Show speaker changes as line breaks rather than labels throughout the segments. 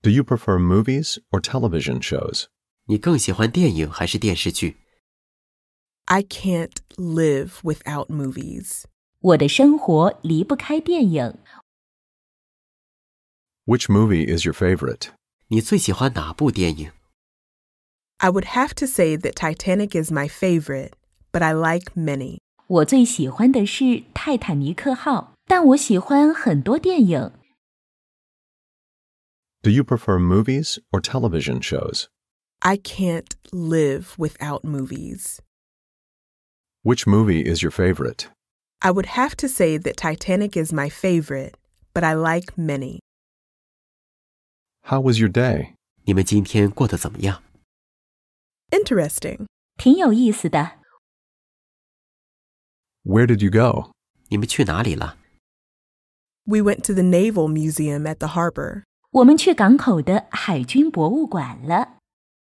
Do you prefer movies or television shows?
你更喜欢电影还是电视剧？
I can't live without movies.
我的生活离不开电影。
Which movie is your favorite?
你最喜欢哪部电影？
I would have to say that Titanic is my favorite, but I like many.
我最喜欢的是《泰坦尼克号》，但我喜欢很多电影。
Do you prefer movies or television shows?
I can't live without movies.
Which movie is your favorite?
I would have to say that Titanic is my favorite, but I like many.
How was your day?
你们今天过得怎么样？
Interesting.
挺有意思的。
Where did you go?
你们去哪里了？
We went to the Naval Museum at the harbor.
我们去港口的海军博物馆了。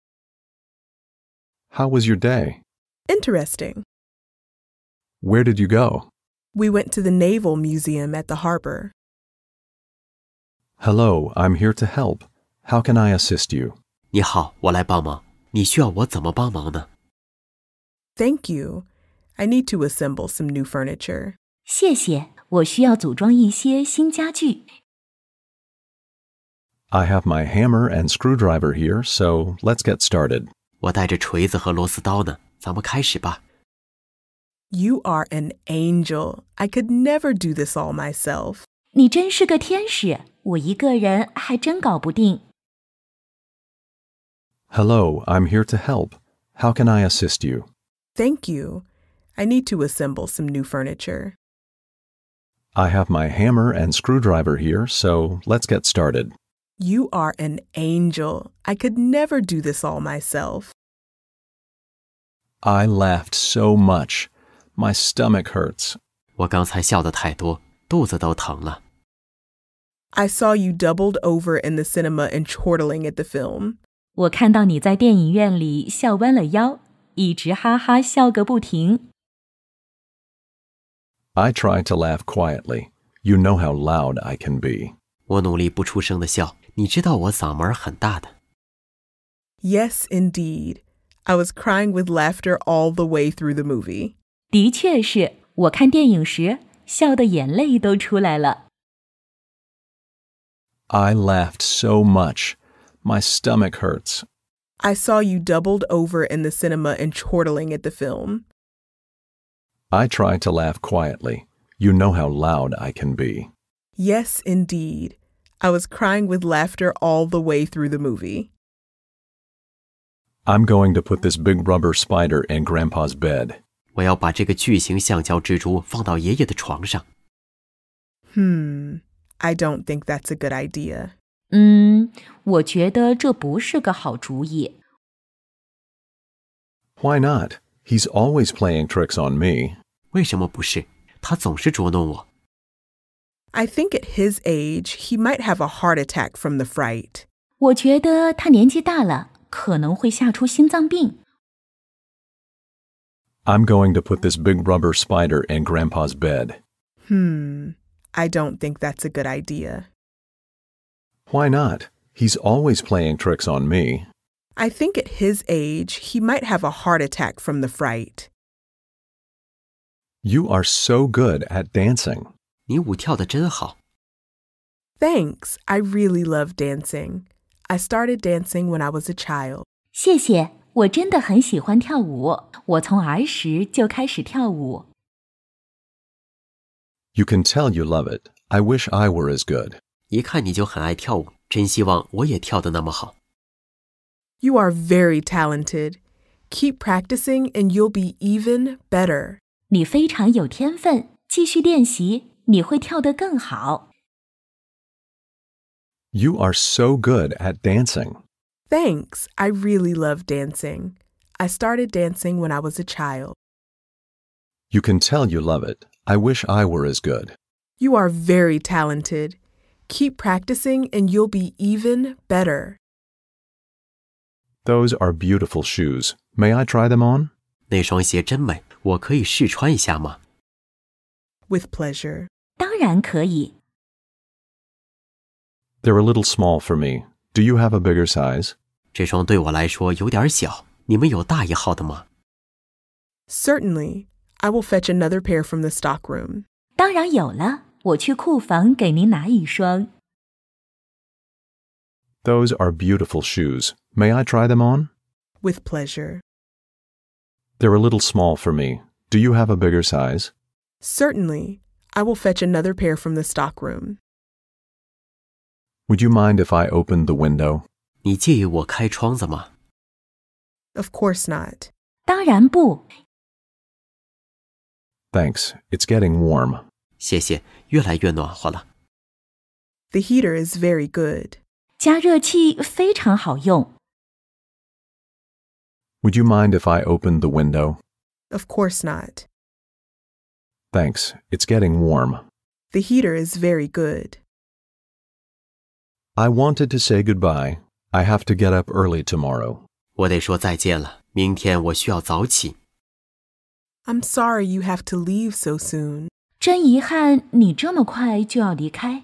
How was your day?
Interesting.
Where did you go?
We went to the Naval Museum at the harbor.
Hello, I'm here to help. How can I assist you?
你好，我来帮忙。你需要我怎么帮忙呢？
Thank you. I need to assemble some new furniture.
谢谢，我需要组装一些新家具。
I have my hammer and screwdriver here, so let's get started.
我带着锤子和螺丝刀呢，咱们开始吧。
You are an angel. I could never do this all myself.
你真是个天使，我一个人还真搞不定。
Hello, I'm here to help. How can I assist you?
Thank you. I need to assemble some new furniture.
I have my hammer and screwdriver here, so let's get started.
You are an angel. I could never do this all myself.
I laughed so much. My stomach hurts.
我刚才笑得太多，肚子都疼了。
I saw you doubled over in the cinema and chortling at the film.
我看到你在电影院里笑弯了腰，一直哈哈笑个不停。
I tried to laugh quietly. You know how loud I can be.
我努力不出声的笑，你知道我嗓门很大的。
Yes, indeed. I was crying with laughter all the way through the movie.
的确是，我看电影时笑得眼泪都出来了。
I laughed so much. My stomach hurts.
I saw you doubled over in the cinema and chortling at the film.
I tried to laugh quietly. You know how loud I can be.
Yes, indeed. I was crying with laughter all the way through the movie.
I'm going to put this big rubber spider in Grandpa's bed.
我要把这个巨型橡胶蜘蛛放到爷爷的床上。
I don't think that's a good idea.
我觉得这不是个好主意。
Why not? He's always playing tricks on me.
为什么不是？他总是捉弄我。
I think at his age, he might have a heart attack from the fright.
我觉得他年纪大了，可能会吓出心脏病。
I'm going to put this big rubber spider in Grandpa's bed.
I don't think that's a good idea.
Why not? He's always playing tricks on me.
I think at his age, he might have a heart attack from the fright.
You are so good at dancing.
你舞跳得真好。
Thanks. I really love dancing. I started dancing when I was a child.
谢谢，我真的很喜欢跳舞，我从儿时就开始跳舞。
You can tell you love it. I wish I were as good.
一看你就很爱跳舞，真希望我也跳得那么好。
You are very talented. Keep practicing and you'll be even better.
你非常有天分，继续练习，你会跳得更好。
You are so good at dancing.
Thanks. I really love dancing. I started dancing when I was a child.
You can tell you love it. I wish I were as good.
You are very talented. Keep practicing and you'll be even better.
Those are beautiful shoes. May I try them on?
那双鞋真美，我可以试穿一下吗？
With pleasure.
当然可以。
They're a little small for me. Do you have a bigger size?
这双对我来说有点小，你们有大一号的吗？
Certainly. I will fetch another pair from the stockroom.
当然有了，我去库房给您拿一双。
Those are beautiful shoes. May I try them on?
With pleasure.
They're a little small for me. Do you have a bigger size?
Certainly. I will fetch another pair from the stockroom.
Would you mind if I opened the window?
你介意我开窗子吗？
Of course not.
当然不，
Thanks. It's getting warm.
谢谢，越来越暖和了。
The heater is very good.
加热器非常好用。
Would you mind if I opened the window?
Of course not.
Thanks. It's getting warm.
The heater is very good.
I wanted to say goodbye. I have to get up early tomorrow.
我得说再见了，明天我需要早起。
I'm sorry you have to leave so soon.
真遗憾，你这么快就要离开。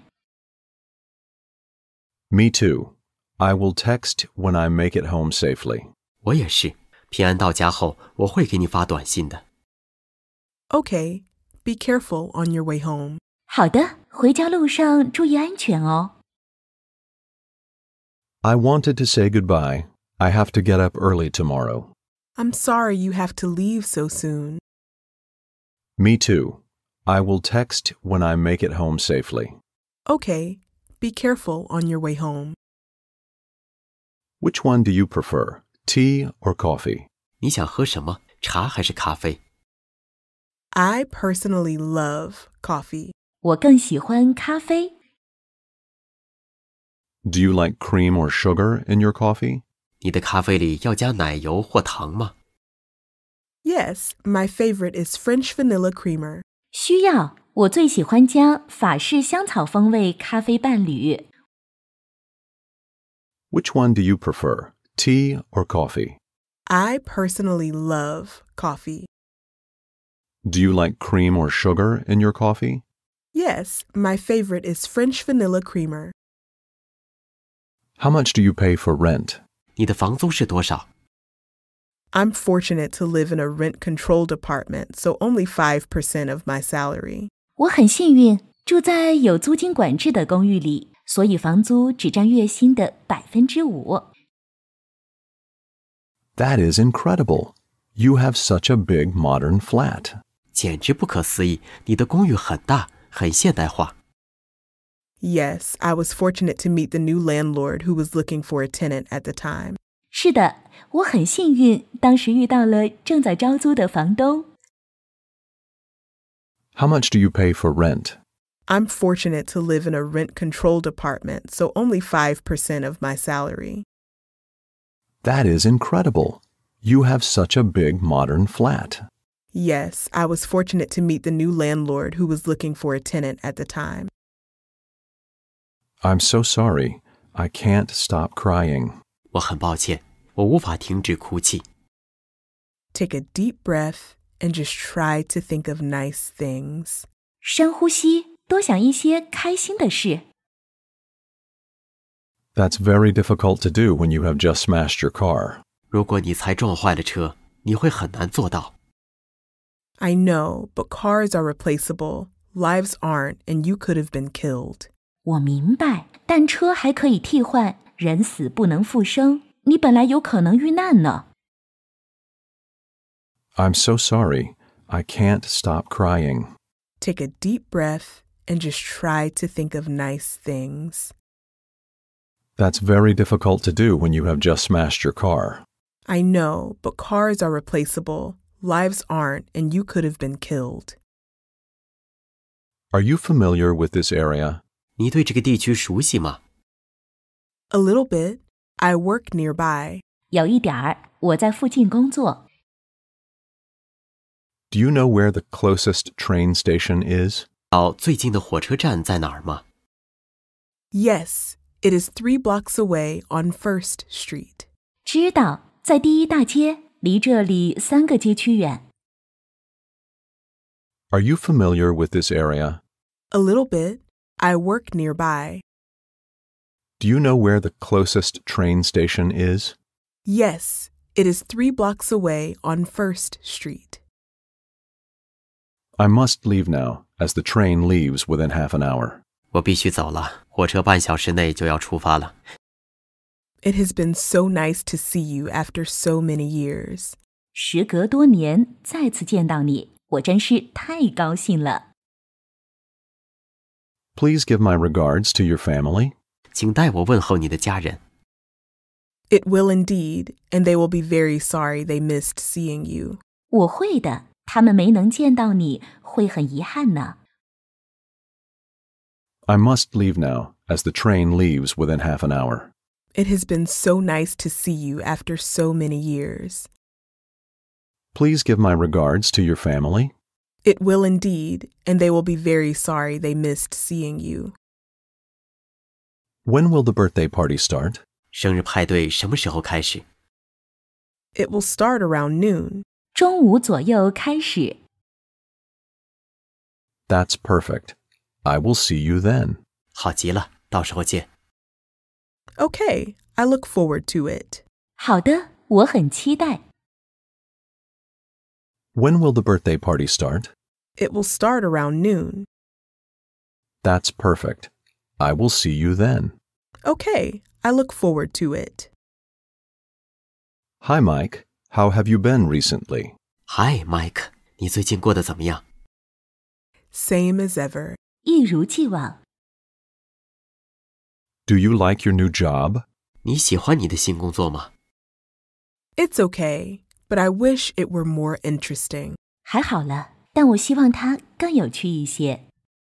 Me too. I will text when I make it home safely.
我也是，平安到家后，我会给你发短信的。
Okay. Be careful on your way home.
好的，回家路上注意安全哦。
I wanted to say goodbye. I have to get up early tomorrow.
I'm sorry you have to leave so soon.
Me too. I will text when I make it home safely.
Okay. Be careful on your way home.
Which one do you prefer, tea or coffee?
你想喝什么？茶还是咖啡？
I personally love coffee.
我更喜欢咖啡。
Do you like cream or sugar in your coffee?
你的咖啡里要加奶油或糖吗？
Yes, my favorite is French vanilla creamer.
需要，我最喜欢加法式香草风味咖啡伴侣。
Which one do you prefer, tea or coffee?
I personally love coffee.
Do you like cream or sugar in your coffee?
Yes, my favorite is French vanilla creamer.
How much do you pay for rent?
你的房租是多少？
I'm fortunate to live in a rent-controlled apartment, so only 5% of my salary.
我很幸运，住在有租金管制的公寓里，所以房租只占月薪的5%。
That is incredible. You have such a big modern flat.
简直不可思议！你的公寓很大，很现代化。
Yes, I was fortunate to meet the new landlord who was looking for a tenant at the time.
是的，我很幸运，当时遇到了正在招租的房东。
How much do you pay for rent?
I'm fortunate to live in a rent-controlled apartment, so only 5% of my salary.
That is incredible. You have such a big modern flat.
Yes, I was fortunate to meet the new landlord who was looking for a tenant at the time.
I'm so sorry. I can't stop crying.
我很抱歉，我无法停止哭泣。
Take a deep breath and just try to think of nice things.
深呼吸，多想一些开心的事。
That's very difficult to do when you have just smashed your car.
如果你才撞坏了车，你会很难做到。
I know, but cars are replaceable. Lives aren't, and you could have been killed.
我明白，但车还可以替换，人死不能复生。你本来有可能遇难呢。
I'm so sorry. I can't stop crying.
Take a deep breath and just try to think of nice things.
That's very difficult to do when you have just smashed your car.
I know, but cars are replaceable. Lives aren't, and you could have been killed.
Are you familiar with this area?
你对这个地区熟悉吗？
A little bit. I work nearby.
有一点儿，我在附近工作。
Do you know where the closest train station is?
到最近的火车站在哪儿吗？
Yes, it is 3 blocks away on First Street.
知道，在第一大街，离这里3个街区远。
Are you familiar with this area?
A little bit. I work nearby.
Do you know where the closest train station is?
Yes, it is 3 blocks away on First Street.
I must leave now, as the train leaves within half an hour.
我必须走了，火车半小时内就要出发了。
It has been so nice to see you after so many years.
时隔多年再次见到你，我真是太高兴了。
Please give my regards to your family.
请代我问候你的家人。
It will indeed, and they will be very sorry they missed seeing you.
我会的，他们没能见到你，会很遗憾呢。
I must leave now, as the train leaves within half an hour.
It has been so nice to see you after so many years.
Please give my regards to your family.
It will indeed, and they will be very sorry they missed seeing you.
When will the birthday party start?
生日派对什么时候开始？
It will start around noon.
中午左右开始。
That's perfect. I will see you then.
好极了，到时候见。
Okay, I look forward to it.
好的，我很期待。
When will the birthday party start?
It will start around noon.
That's perfect. I will see you then.
Okay, I look forward to it.
Hi, Mike. How have you been recently?
Hi, Mike， 你最近过得怎么样？
Same as ever.
一如既往。
Do you like your new job?
你喜欢你的新工作吗？
It's okay, but I wish it were more interesting.
还好了，但我希望它更有趣一些。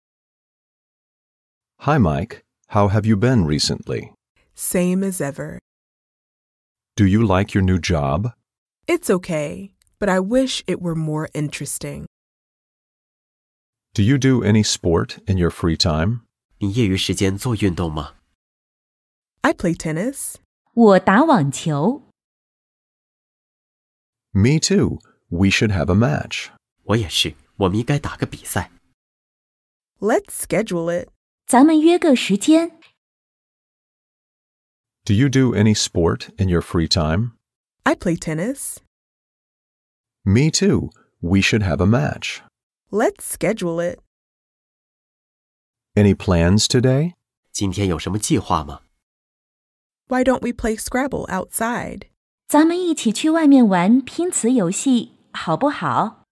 Hi, Mike. How have you been recently?
Same as ever.
Do you like your new job?
It's okay, but I wish it were more interesting.
Do you do any sport in your free time?
你业余时间做运动吗？
I play tennis.
我打网球。
Me too. We should have a match.
我也是，我们应该打个比赛。
Let's schedule it.
咱们约个时间。
Do you do any sport in your free time?
I play tennis.
Me too. We should have a match.
Let's schedule it.
Any plans today?
今天有什么计划吗？
Why don't we play Scrabble outside?
咱们一起去外面玩拼词游戏，好不好？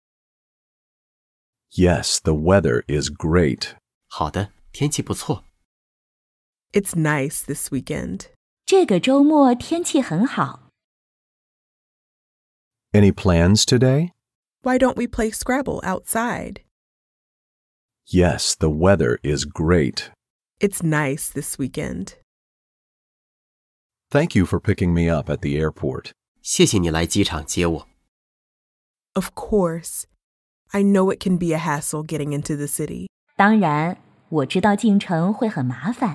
Yes, the weather is great.
好的，天气不错。
It's nice this weekend.
这个周末天气很好。
Any plans today?
Why don't we play Scrabble outside?
Yes, the weather is great.
It's nice this weekend.
Thank you for picking me up at the airport.
谢谢你来机场接我。
Of course. I know it can be a hassle getting into the city.
当然，我知道进城会很麻烦。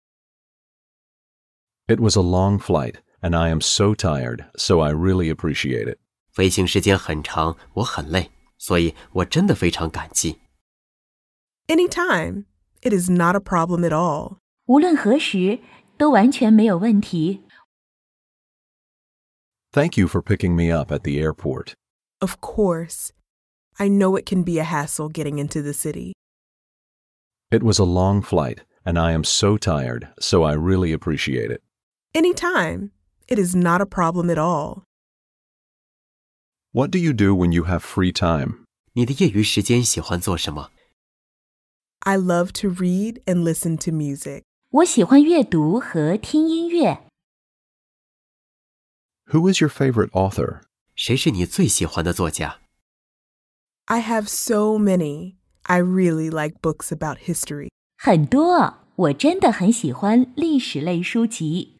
It was a long flight, and I am so tired, so I really appreciate it.
飞行时间很长，我很累，所以我真的非常感激。
Anytime. It is not a problem at all.
无论何时，都完全没有问题。
Thank you for picking me up at the airport.
Of course. I know it can be a hassle getting into the city.
It was a long flight, and I am so tired, so I really appreciate it.
Anytime. It is not a problem at all.
What do you do when you have free time?
你的业余时间喜欢做什么？
I love to read and listen to music.
我喜欢阅读和听音乐。
Who is your favorite author?
谁是你最喜欢的作家？
I have so many. I really like books about history.
很多，我真的很喜欢历史类书籍。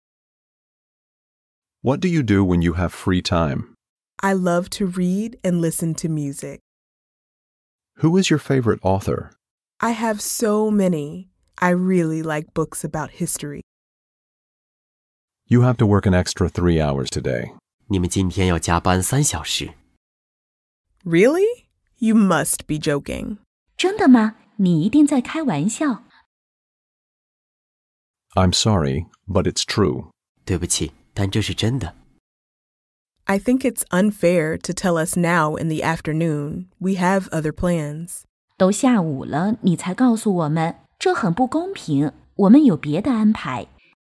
What do you do when you have free time?
I love to read and listen to music.
Who is your favorite author?
I have so many. I really like books about history.
You have to work an extra 3 hours today.
你们今天要加班3小时。
Really? You must be joking.
真的吗？你一定在开玩笑。
I'm sorry, but it's true.
对不起，但这是真的。
I think it's unfair to tell us now in the afternoon. We have other plans.
都下午了，你才告诉我们，这很不公平。我们有别的安排。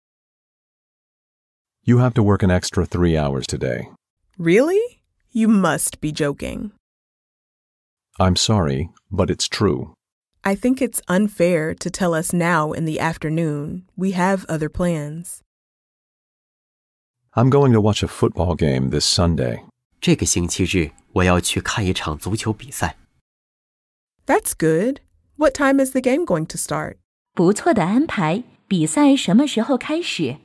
You have to work an extra 3 hours today.
Really? You must be joking.
I'm sorry, but it's true.
I think it's unfair to tell us now in the afternoon. We have other plans.
I'm going to watch a football game this Sunday.
这个星期日我要去看一场足球比赛。
That's good. What time is the game going to start?
不错的安排。比赛什么时候开始？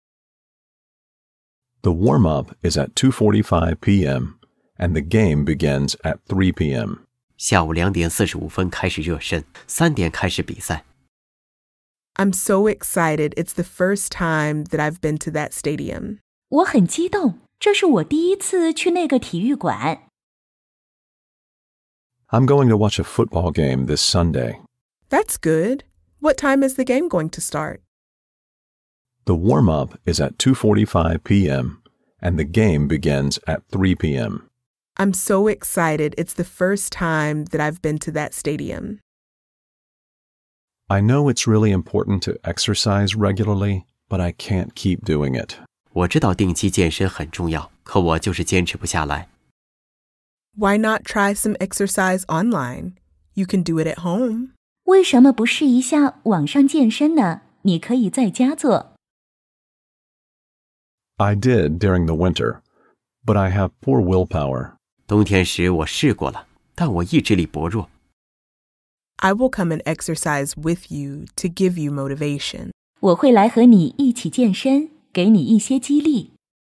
The warm-up is at 2:45 p.m. and the game begins at 3 p.m.
下午2点45分开始热身，3点开始比赛。
I'm so excited. It's the first time that I've been to that stadium.
我很激动，这是我第一次去那个体育馆。
I'm going to watch a football game this Sunday.
That's good. What time is the game going to start?
The warm-up is at 2:45 p.m. and the game begins at 3 p.m.
I'm so excited. It's the first time that I've been to that stadium.
I know it's really important to exercise regularly, but I can't keep doing it.
我知道定期健身很重要，可我就是坚持不下来。
Why not try some exercise online? You can do it at home.
为什么不试一下网上健身呢？你可以在家做。
I did during the winter, but I have poor willpower.
冬天时我试过了，但我意志力薄弱。
I will come and exercise with you to give you motivation.
我会来和你一起健身，给你一些激励。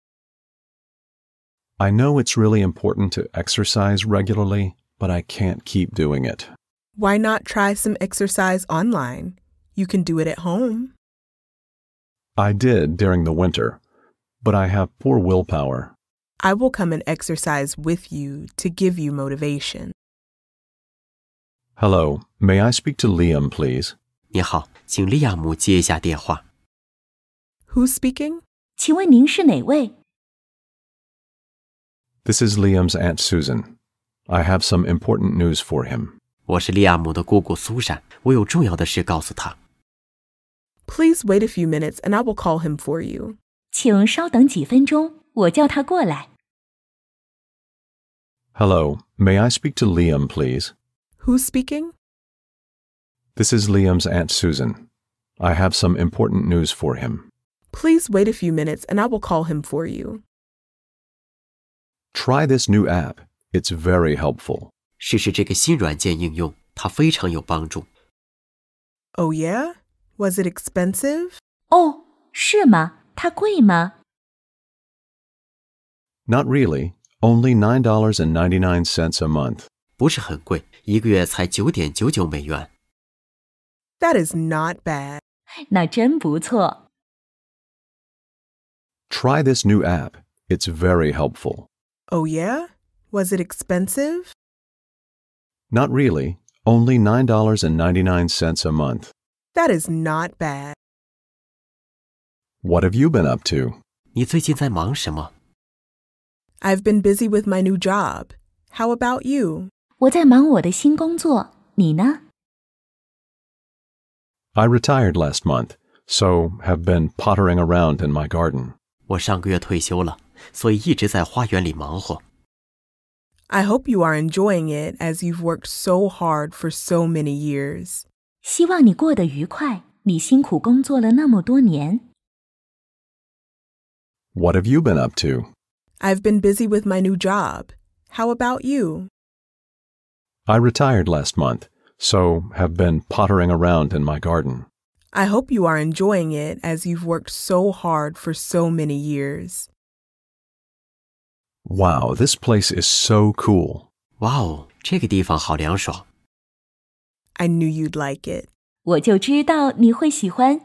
I know it's really important to exercise regularly, but I can't keep doing it.
Why not try some exercise online? You can do it at home.
I did during the winter, but I have poor willpower.
I will come and exercise with you to give you motivation.
Hello, may I speak to Liam, please?
你好，请利亚姆接一下电话。
Who's speaking?
请问您是哪位？
This is Liam's Aunt Susan. I have some important news for him.
我是利亚姆的姑姑苏珊，我有重要的事告诉他。
Please wait a few minutes and I will call him for you.
请稍等几分钟，我叫他过来。
Hello, may I speak to Liam, please?
Who's speaking?
This is Liam's Aunt Susan. I have some important news for him.
Please wait a few minutes and I will call him for you.
Try this new app. It's very helpful.
试试这个新软件应用，它非常有帮助。
Oh yeah? Was it expensive?
哦，是吗？它贵吗？
Not really. Only $9.99 a month.
不是很贵，一个月才9.99美元。
That is not bad.
那真不错。
Try this new app. It's very helpful.
Oh yeah? Was it expensive?
Not really. Only $9.99 a month.
That is not bad.
What have you been up to?
你最近在忙什么？
I've been busy with my new job. How about you?
我在忙我的新工作，你呢？
I retired last month, so have been pottering around in my garden.
我上个月退休了，所以一直在花园里忙活。
I hope you are enjoying it as you've worked so hard for so many years.
希望你过得愉快，你辛苦工作了那么多年。
What have you been up to?
I've been busy with my new job. How about you?
I retired last month, so have been pottering around in my garden.
I hope you are enjoying it as you've worked so hard for so many years.
Wow, this place is so cool.
哇哦，这个地方好凉爽。
I knew you'd like it.
我就知道你会喜欢。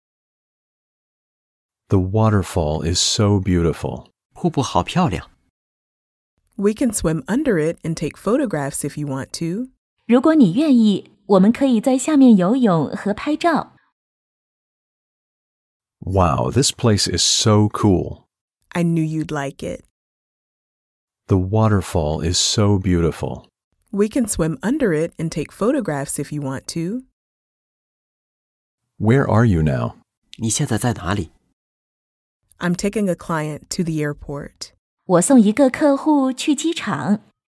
The waterfall is so beautiful.
瀑布好漂亮。
We can swim under it and take photographs if you want to.
如果你愿意，我们可以在下面游泳和拍照。
Wow, this place is so cool.
I knew you'd like it.
The waterfall is so beautiful.
We can swim under it and take photographs if you want to.
Where are you now?
你现在在哪里？
I'm taking a client to the airport.
我送一个客户去机场。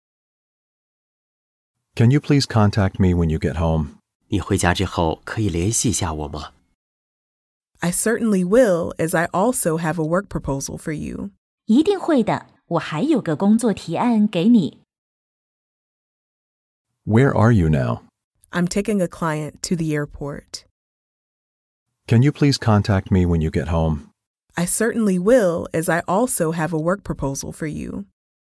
Can you please contact me when you get home?
你回家之后可以联系一下我吗？
I certainly will, as I also have a work proposal for you.
一定会的，我还有个工作提案给你。
Where are you now?
I'm taking a client to the airport.
Can you please contact me when you get home?
I certainly will, as I also have a work proposal for you.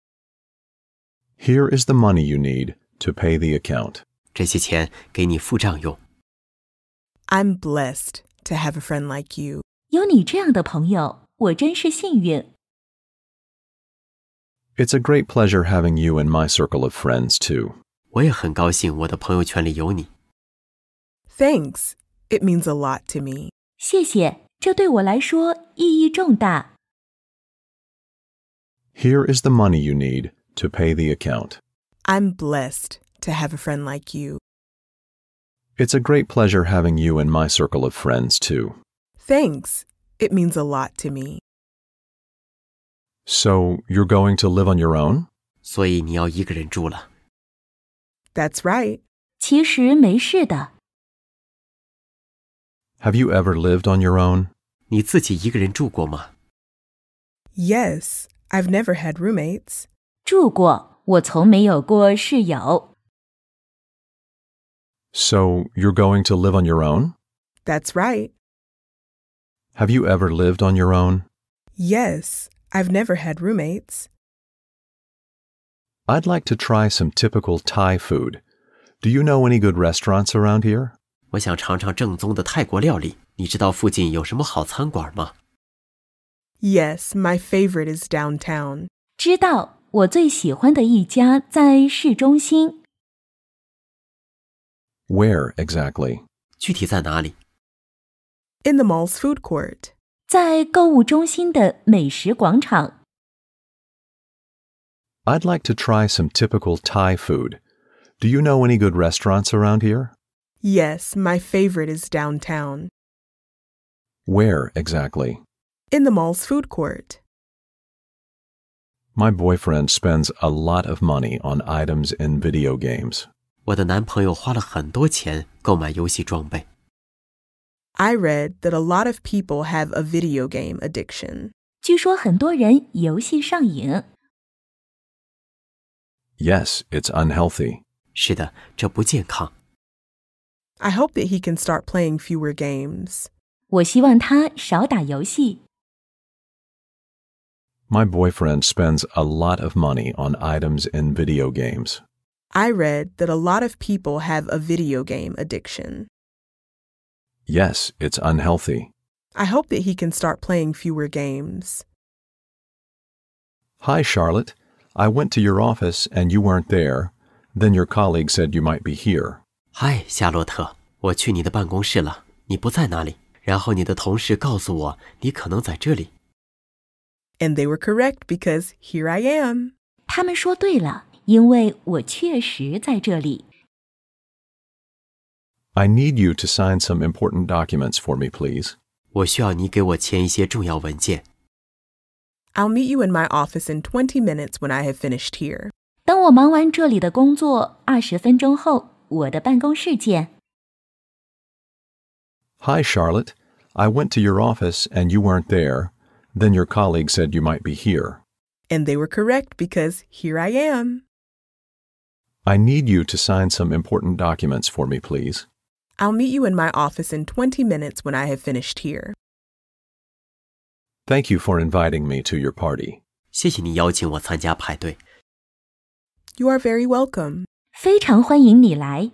Here is the money you need to pay the account.
这些钱给你付账用。
I'm blessed to have a friend like you.
有你这样的朋友，我真是幸运。
It's a great pleasure having you in my circle of friends, too.
我也很高兴我的朋友圈里有你。
Thanks. It means a lot to me.
谢谢，这对我来说意义重大。
Here is the money you need to pay the account.
I'm blessed to have a friend like you.
It's a great pleasure having you in my circle of friends, too.
Thanks. It means a lot to me.
So, you're going to live on your own?
所以你要一个人住了。
That's right.
其实没事的。
Have you ever lived on your own?
你自己一个人住过吗？
Yes, I've never had roommates.
住过，我从没有过室友。
So, you're going to live on your own?
That's right.
Have you ever lived on your own?
Yes, I've never had roommates.
I'd like to try some typical Thai food. Do you know any good restaurants around here?
我想尝尝正宗的泰国料理。你知道附近有什么好餐馆吗？
Yes, my favorite is downtown.
知道，我最喜欢的一家在市中心。
Where exactly?
具体在哪里？
In the mall's food court.
在购物中心的美食广场。
I'd like to try some typical Thai food. Do you know any good restaurants around here?
Yes, my favorite is downtown.
Where exactly?
In the mall's food court.
My boyfriend spends a lot of money on items in video games.
我的男朋友花了很多钱购买游戏装备。
I read that a lot of people have a video game addiction.
据说很多人游戏上瘾。
Yes, it's unhealthy.
是的，这不健康。
I hope that he can start playing fewer games.
我希望他少打游戏。
My boyfriend spends a lot of money on items in video games.
I read that a lot of people have a video game addiction.
Yes, it's unhealthy.
I hope that he can start playing fewer games.
Hi, Charlotte. I went to your office and you weren't there. Then your colleague said you might be here.
嗨，夏洛特，我去你的办公室了，你不在那里。然后你的同事告诉我，你可能在这里。
And they were correct because here I am.
他们说对了，因为我确实在这里。
I need you to sign some important documents for me, please.
我需要你给我签一些重要文件。
I'll meet you in my office in 20 minutes when I have finished here.
等我忙完这里的工作，20分钟后，我的办公室见。
Hi, Charlotte. I went to your office and you weren't there. Then your colleague said you might be here.
And they were correct because here I am.
I need you to sign some important documents for me, please.
I'll meet you in my office in 20 minutes when I have finished here.
Thank you for inviting me to your party.
谢谢你邀请我参加派对。
You are very welcome.
非常欢迎你来。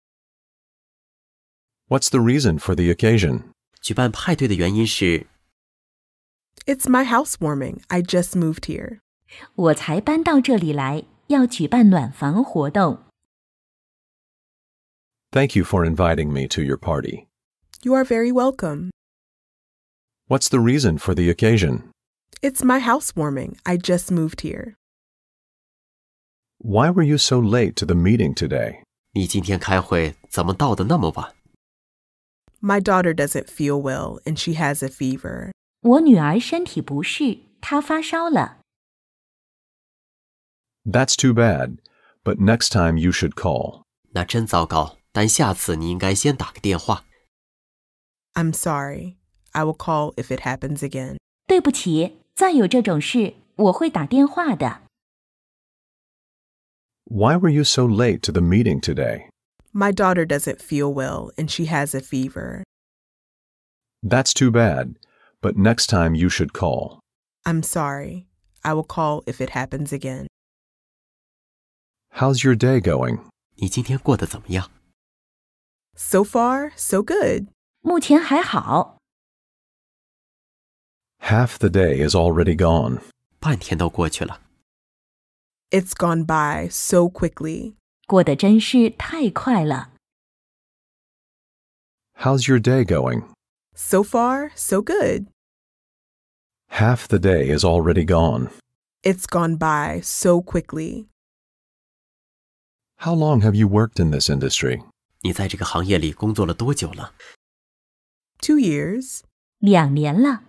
What's the reason for the occasion?
举办派对的原因是，
It's my housewarming. I just moved here.
我才搬到这里来，要举办暖房活动。
Thank you for inviting me to your party.
You are very welcome.
What's the reason for the occasion?
It's my housewarming. I just moved here.
Why were you so late to the meeting today?
你今天开会怎么到得那么晚？
My daughter doesn't feel well and she has a fever.
我女儿身体不适，她发烧了。
That's too bad, but next time you should call.
那真糟糕，但下次你应该先打个电话。
I'm sorry. I will call if it happens again.
对不起，再有这种事，我会打电话的。
Why were you so late to the meeting today?
My daughter doesn't feel well and she has a fever.
That's too bad, but next time you should call.
I'm sorry. I will call if it happens again.
How's your day going?
你今天过得怎么样？
So far, so good.
目前还好。
Half the day is already gone.
半天都过去了。
It's gone by so quickly.
过得真是太快了。
How's your day going?
So far, so good.
Half the day is already gone.
It's gone by so quickly.
How long have you worked in this industry?
你在这个行业里工作了多久了？
2 years.
2年了。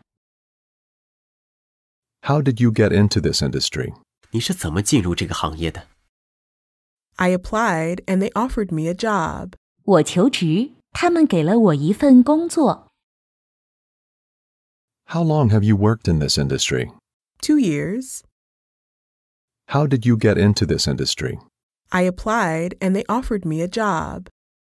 How did you get into this industry?
你是怎么进入这个行业的？
I applied and they offered me a job.
我求职，他们给了我一份工作。
How long have you worked in this industry?
2 years.
How did you get into this industry?
I applied and they offered me a job.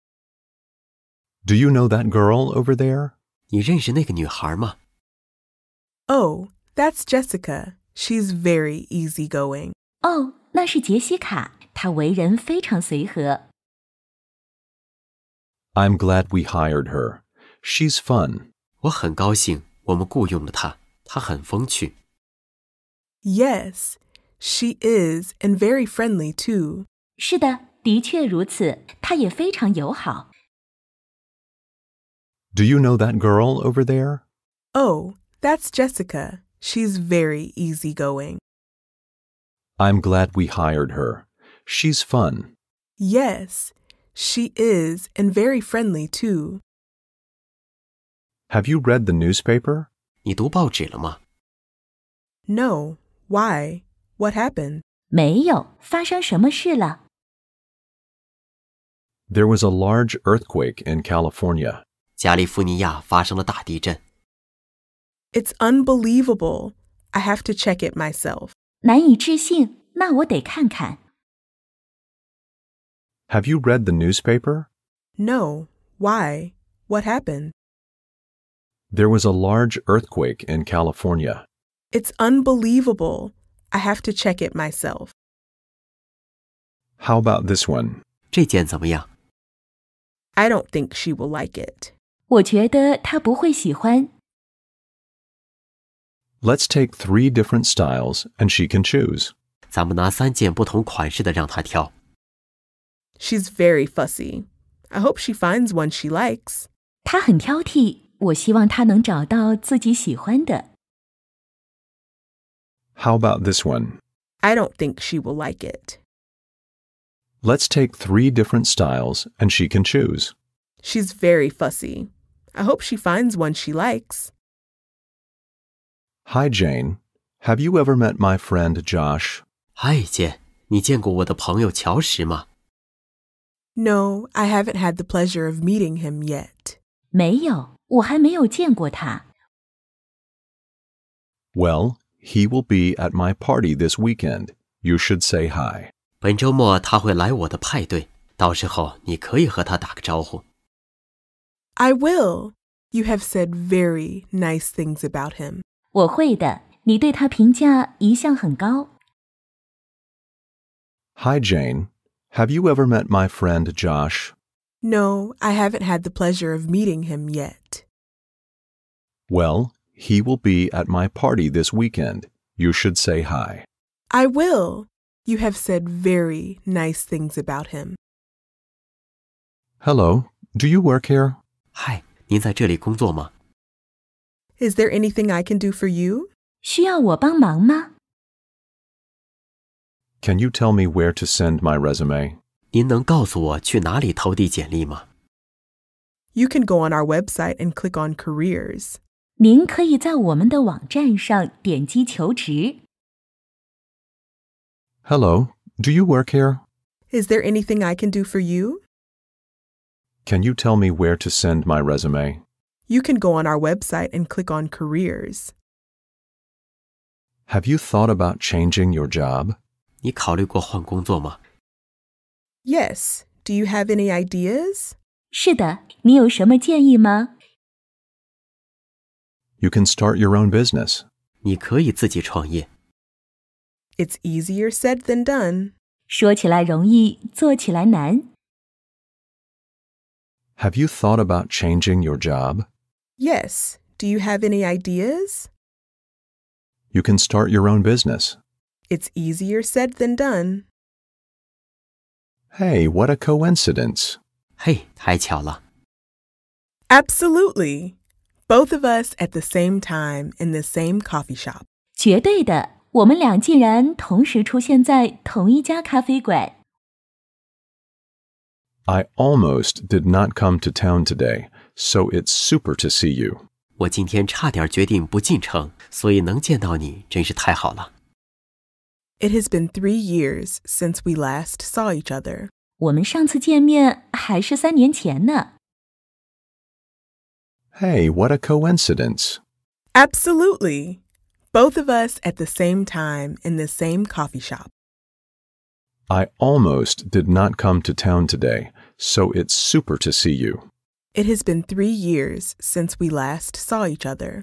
Do you know that girl over there?
你认识那个女孩吗？
Oh, that's Jessica. She's very easygoing.
哦，那是杰西卡，她为人非常随和。
I'm glad we hired her. She's fun.
我很高兴我们雇佣了她，她很风趣。
Yes, she is, and very friendly too.
是的，的确如此，她也非常友好。
Do you know that girl over there?
Oh, that's Jessica. She's very easygoing.
I'm glad we hired her. She's fun.
Yes, she is, and very friendly too.
Have you read the newspaper?
你读报纸了吗？
No, why? What happened?
没有，发生什么事了？
There was a large earthquake in California.
加利福尼亚发生了大地震，
It's unbelievable. I have to check it myself.
难以置信，那我得看看。
Have you read the newspaper?
No, why? What happened?
There was a large earthquake in California.
It's unbelievable. I have to check it myself.
How about this one?
这件怎么样？
I don't think she will like it.
我觉得她不会喜欢。
Let's take 3 different styles and she can choose.
咱们拿3件不同款式的让她挑。
She's very fussy. I hope she finds one she likes.
她很挑剔，我希望她能找到自己喜欢的。
How about this one?
I don't think she will like it.
Let's take 3 different styles and she can choose.
She's very fussy. I hope she finds one she likes.
Hi, Jane. Have you ever met my friend Josh?
嗨，姐，你见过我的朋友乔什吗？
No, I haven't had the pleasure of meeting him yet.
没有，我还没有见过他。
Well, he will be at my party this weekend. You should say hi.
本周末他会来我的派对，到时候你可以和他打个招呼。
I will. You have said very nice things about him.
我会的，你对他评价一向很高。
Hi, Jane. Have you ever met my friend Josh?
No, I haven't had the pleasure of meeting him yet.
Well, he will be at my party this weekend. You should say hi.
I will. You have said very nice things about him.
Hello. Do you work here?
嗨，您在这里工作吗？
Is there anything I can do for you?
需要我帮忙吗？
Can you tell me where to send my resume?
您能告诉我去哪里投递简历吗？
You can go on our website and click on Careers.
您可以在我们的网站上点击求职。
Hello, do you work here?
Is there anything I can do for you?
Can you tell me where to send my resume?
You can go on our website and click on Careers.
Have you thought about changing your job?
你考虑过换工作吗？
Yes. Do you have any ideas?
是的，你有什么建议吗？
You can start your own business.
你可以自己创业。
It's easier said than done.
说起来容易，做起来难。
Have you thought about changing your job?
Yes. Do you have any ideas?
You can start your own business.
It's easier said than done.
Hey, what a coincidence.
嘿，太巧了！
Absolutely. Both of us at the same time in the same coffee shop.
绝对的，我们俩竟然同时出现在同一家咖啡馆。
I almost did not come to town today, so it's super to see you.
我今天差点决定不进城，所以能见到你真是太好了。
It has been 3 years since we last saw each other.
我们上次见面还是3年前呢。
Hey, what a coincidence.
Absolutely. Both of us at the same time in the same coffee shop.
I almost did not come to town today, so it's super to see you.
It has been 3 years since we last saw each other.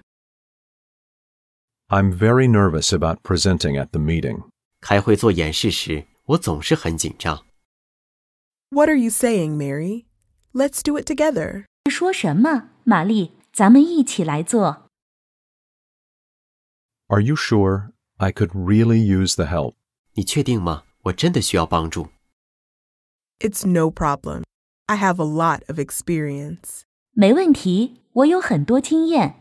I'm very nervous about presenting at the meeting.
开会做演示时，我总是很紧张。
What are you saying, Mary? Let's do it together.
说什么，玛丽？咱们一起来做。
Are you sure? I could really use the help.
你确定吗？我真的需要帮助。
It's no problem. I have a lot of experience.
没问题，我有很多经验。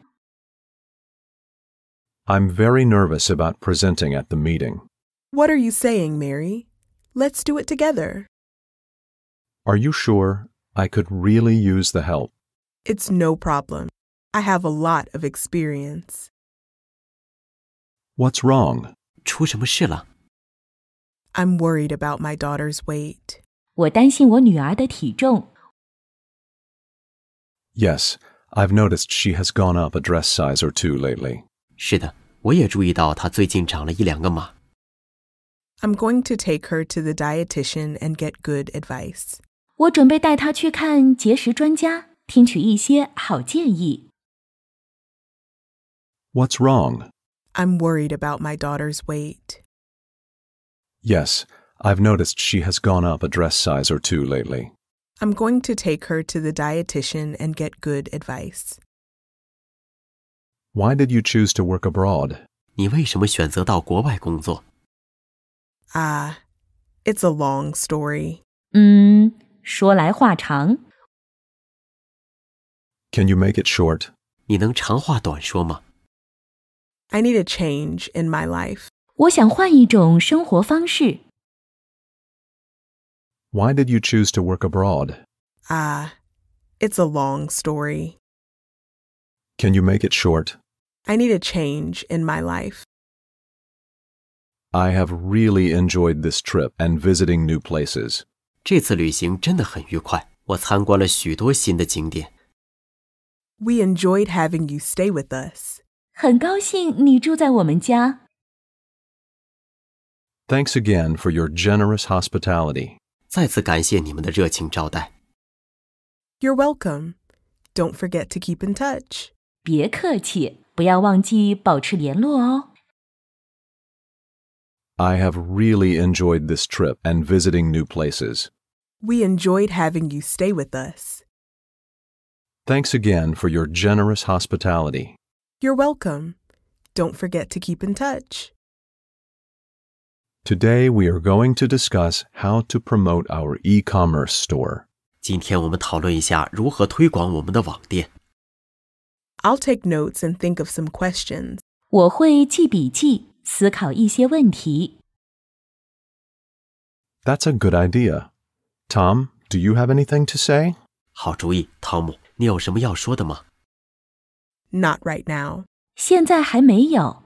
I'm very nervous about presenting at the meeting.
What are you saying, Mary? Let's do it together.
Are you sure? I could really use the help.
It's no problem. I have a lot of experience.
What's wrong?
出什么事了？
I'm worried about my daughter's weight.
我担心我女儿的体重。
Yes, I've noticed she has gone up a dress size or two lately.
是的，我也注意到她最近长了1-2个码。
I'm going to take her to the dietitian and get good advice.
我准备带她去看节食专家，听取一些好建议。
What's wrong?
I'm worried about my daughter's weight.
Yes, I've noticed she has gone up a dress size or two lately.
I'm going to take her to the dietitian and get good advice.
Why did you choose to work abroad?
你为什么选择到国外工作？
It's a long story.
说来话长。
Can you make it short?
你能长话短说吗？
I need a change in my life.
我想换一种生活方式。
Why did you choose to work abroad?
It's a long story.
Can you make it short?
I need a change in my life.
I have really enjoyed this trip and visiting new places.
这次旅行真的很愉快，我参观了许多新的景点。
We enjoyed having you stay with us.
很高兴你住在我们家。
Thanks again for your generous hospitality.
再次感谢你们的热情招待。
You're welcome. Don't forget to keep in touch.
别客气，不要忘记保持联络哦。
I have really enjoyed this trip and visiting new places.
We enjoyed having you stay with us.
Thanks again for your generous hospitality.
You're welcome. Don't forget to keep in touch.
Today we are going to discuss how to promote our e-commerce store.
今天我们讨论一下如何推广我们的网店。
I'll take notes and think of some questions.
我会记笔记，思考一些问题。
That's a good idea. Tom, do you have anything to say?
好主意，汤姆，你有什么要说的吗？
Not right now.
现在还没有。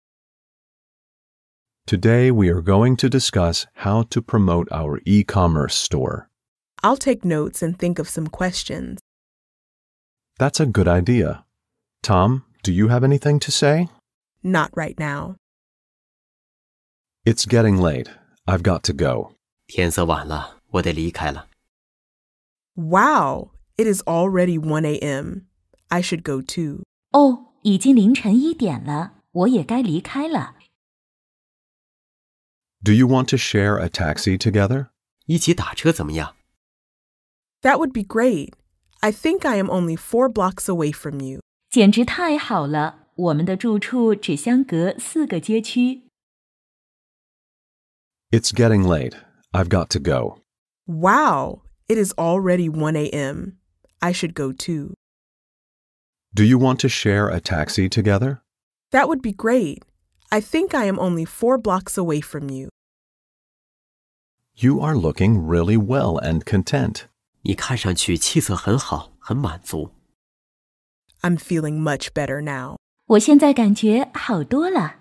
Today we are going to discuss how to promote our e-commerce store.
I'll take notes and think of some questions.
That's a good idea. Tom, do you have anything to say?
Not right now.
It's getting late. I've got to go.
天色晚了，我得离开了。
Wow, it is already 1 a.m. I should go too.
哦，已经凌晨1点了，我也该离开了。
Do you want to share a taxi together?
一起打车怎么样？
That would be great. I think I am only 4 blocks away from you.
简直太好了，我们的住处只相隔4个街区。
It's getting late. I've got to go.
Wow, it is already 1 a.m. I should go too.
Do you want to share a taxi together?
That would be great. I think I am only 4 blocks away from you.
You are looking really well and content.
你看上去气色很好，很满足。
I'm feeling much better now.
我现在感觉好多了。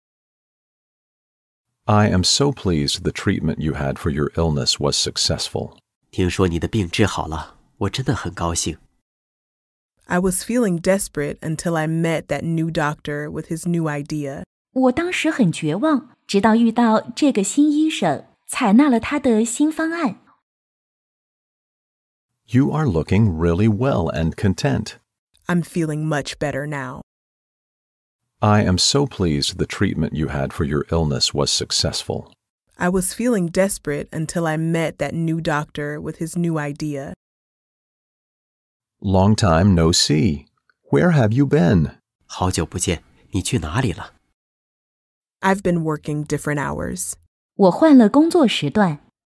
I am so pleased the treatment you had for your illness was successful.
听说你的病治好了，我真的很高兴。
I was feeling desperate until I met that new doctor with his new idea.
我当时很绝望，直到遇到这个新医生，采纳了他的新方案。
You are looking really well and content.
I'm feeling much better now.
I am so pleased the treatment you had for your illness was successful.
I was feeling desperate until I met that new doctor with his new idea.
Long time no see. Where have you been?
好久不见，你去哪里了？
I've been working different hours.
我换了工作时段。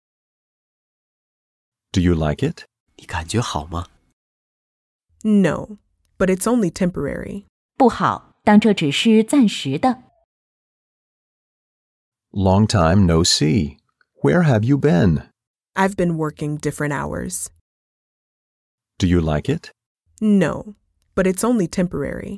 Do you like it?
你感觉好吗？
No, but it's only temporary.
不好，但这只是暂时的。
Long time no see. Where have you been?
I've been working different hours.
Do you like it?
No, but it's only temporary.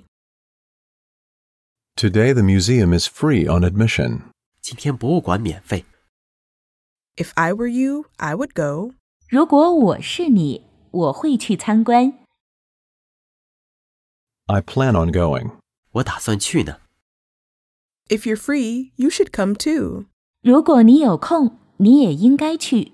Today the museum is free on admission.
今天博物馆免费。
If I were you, I would go.
如果我是你，我会去参观。
I plan on going.
我打算去呢。
If you're free, you should come too.
如果你有空，你也应该去。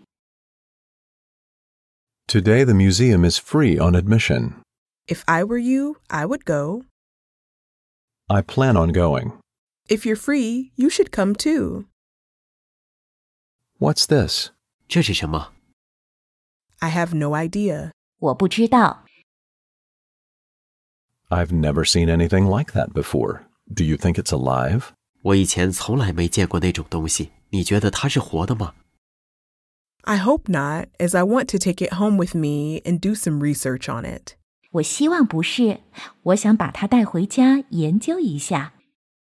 Today the museum is free on admission.
If I were you, I would go.
I plan on going.
If you're free, you should come too.
What's this?
这是什么？
I have no idea.
我不知道。
I've never seen anything like that before. Do you think it's alive?
我以前从来没见过那种东西，你觉得它是活的吗？
I hope not, as I want to take it home with me and do some research on it.
我希望不是，我想把它带回家研究一下。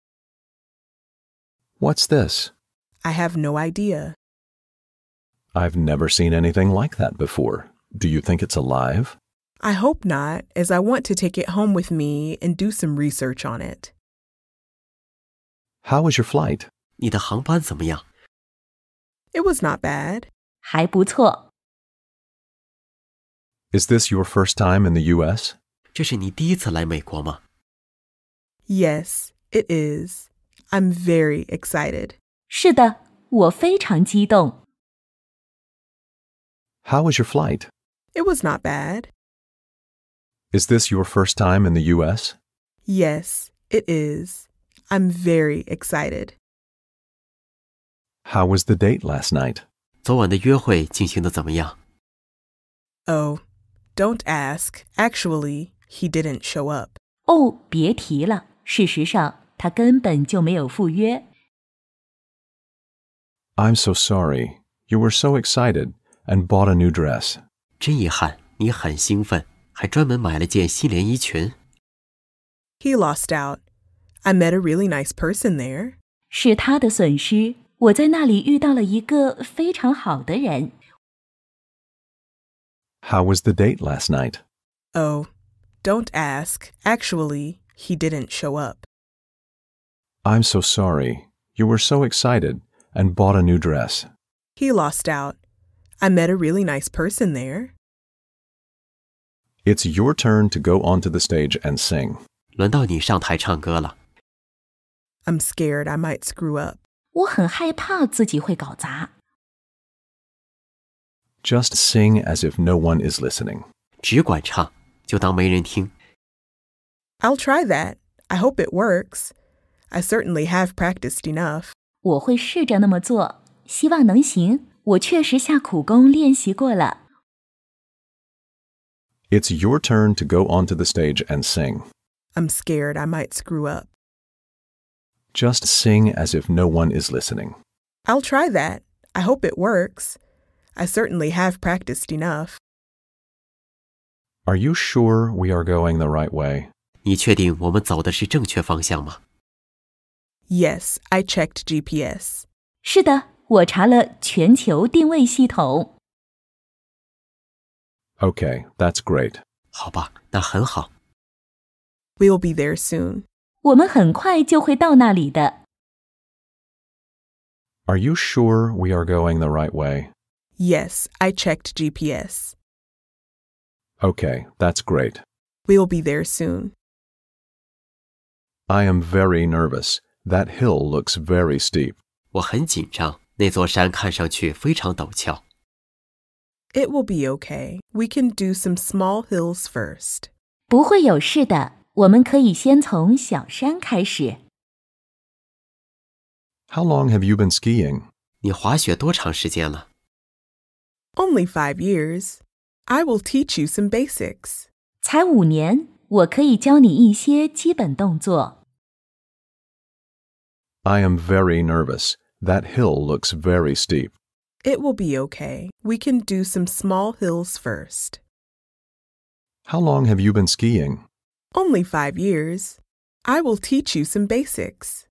What's this?
I have no idea.
I've never seen anything like that before. Do you think it's alive?
I hope not, as I want to take it home with me and do some research on it.
How was your flight?
你的航班怎么样？
It was not bad.
还不错。
Is this your first time in the U.S.?
这是你第一次来美国吗？
Yes, it is. I'm very excited.
是的，我非常激动。
How was your flight?
It was not bad.
Is this your first time in the U.S.?
Yes, it is. I'm very excited.
How was the date last night?
昨晚的约会进行的怎么样？
Oh, don't ask. Actually, he didn't show up.
哦，别提了，事实上他根本就没有赴约。
I'm so sorry. You were so excited and bought a new dress.
真遗憾，你很兴奋，还专门买了件新连衣裙。
He lost out. I met a really nice person there.
是他的损失，我在那里遇到了一个非常好的人。
How was the date last night?
Oh, don't ask. Actually, he didn't show up.
I'm so sorry. You were so excited and bought a new dress.
He lost out. I met a really nice person there.
It's your turn to go onto the stage and sing.
轮到你上台唱歌了。
I'm scared I might screw up.
我很害怕自己会搞砸。
Just sing as if no one is listening.
只管唱，就当没人听。
I'll try that. I hope it works. I certainly have practiced enough.
我会试着那么做，希望能行。我确实下苦功练习过了。
It's your turn to go onto the stage and sing.
I'm scared I might screw up.
Just sing as if no one is listening.
I'll try that. I hope it works. I certainly have practiced enough.
Are you sure we are going the right way?
你确定我们走的是正确方向吗？
Yes, I checked GPS.
是的，我查了全球定位系统。
Okay, that's great.
好吧，那很好。
We'll be there soon.
我们很快就会到那里的。
Are you sure we are going the right way?
Yes, I checked GPS.
Okay, that's great.
We'll be there soon.
I am very nervous. That hill looks very steep.
我很紧张，那座山看上去非常陡峭。
It will be okay. We can do some small hills first.
不会有事的，我们可以先从小山开始。
How long have you been skiing?
你滑雪多长时间了？
Only 5 years. I will teach you some basics.
才5年，我可以教你一些基本动作。
I am very nervous. That hill looks very steep.
It will be okay. We can do some small hills first.
How long have you been skiing?
Only 5 years. I will teach you some basics.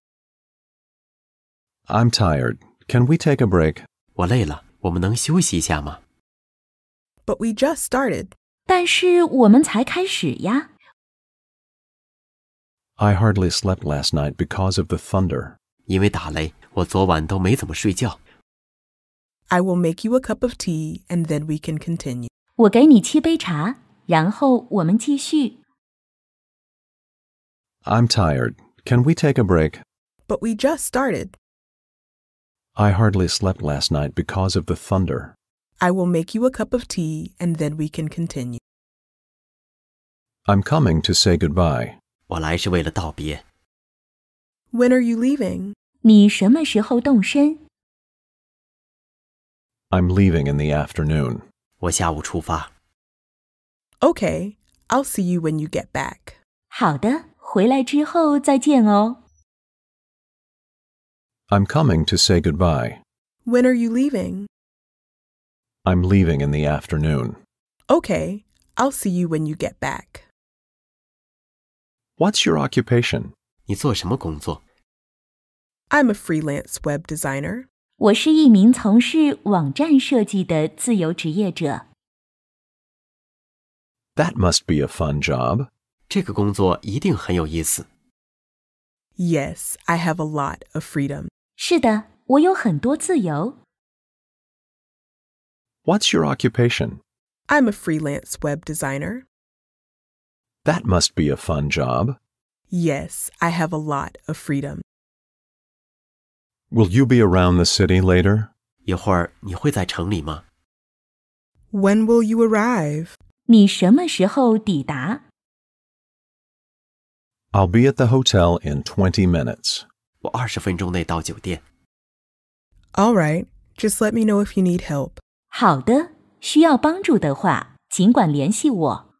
I'm tired. Can we take a break?
我累了，我们能休息一下吗？
But we just started.
但是我们才开始呀。
I hardly slept last night because of the thunder.
因为打雷，我昨晚都没怎么睡觉。
I will make you a cup of tea and then we can continue.
我给你沏杯茶，然后我们继续。
I'm tired. Can we take a break?
But we just started.
I hardly slept last night because of the thunder.
I will make you a cup of tea and then we can continue.
I'm coming to say goodbye.
我来是为了道别。
When are you leaving?
你什么时候动身？
I'm leaving in the afternoon.
我下午出发。
Okay, I'll see you when you get back.
好的，回来之后再见哦。
I'm coming to say goodbye.
When are you leaving?
I'm leaving in the afternoon.
Okay, I'll see you when you get back.
What's your occupation?
你做什么工作？
I'm a freelance web designer.
我是一名从事网站设计的自由职业者。
That must be a fun job.
这个工作一定很有意思。
Yes, I have a lot of freedom.
是的，我有很多自由。
What's your occupation?
I'm a freelance web designer.
That must be a fun job.
Yes, I have a lot of freedom.
Will you be around the city later?
一会儿你会在城里吗？
When will you arrive?
你什么时候抵达？
I'll be at the hotel in 20 minutes.
我20分钟内到酒店。
All right, just let me know if you need help.
好的，需要帮助的话，尽管联系我。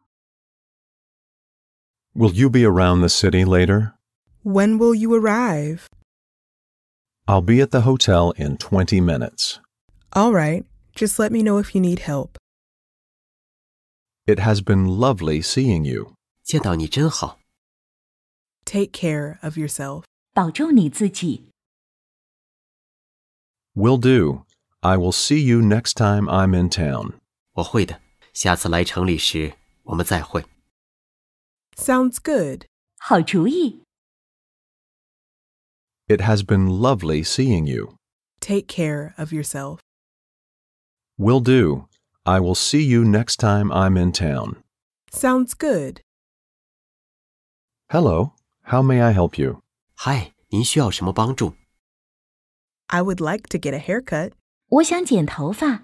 Will you be around the city later?
When will you arrive?
I'll be at the hotel in 20 minutes.
All right, just let me know if you need help.
It has been lovely seeing you.
见到你真好。
Take care of yourself.
保重你自己。
Will do. I will see you next time I'm in town.
我会的，下次来城里时我们再会。
Sounds good.
好主意。
It has been lovely seeing you.
Take care of yourself.
Will do. I will see you next time I'm in town.
Sounds good.
Hello. How may I help you?
嗨，您需要什么帮助？
I would like to get a haircut.
我想剪头发。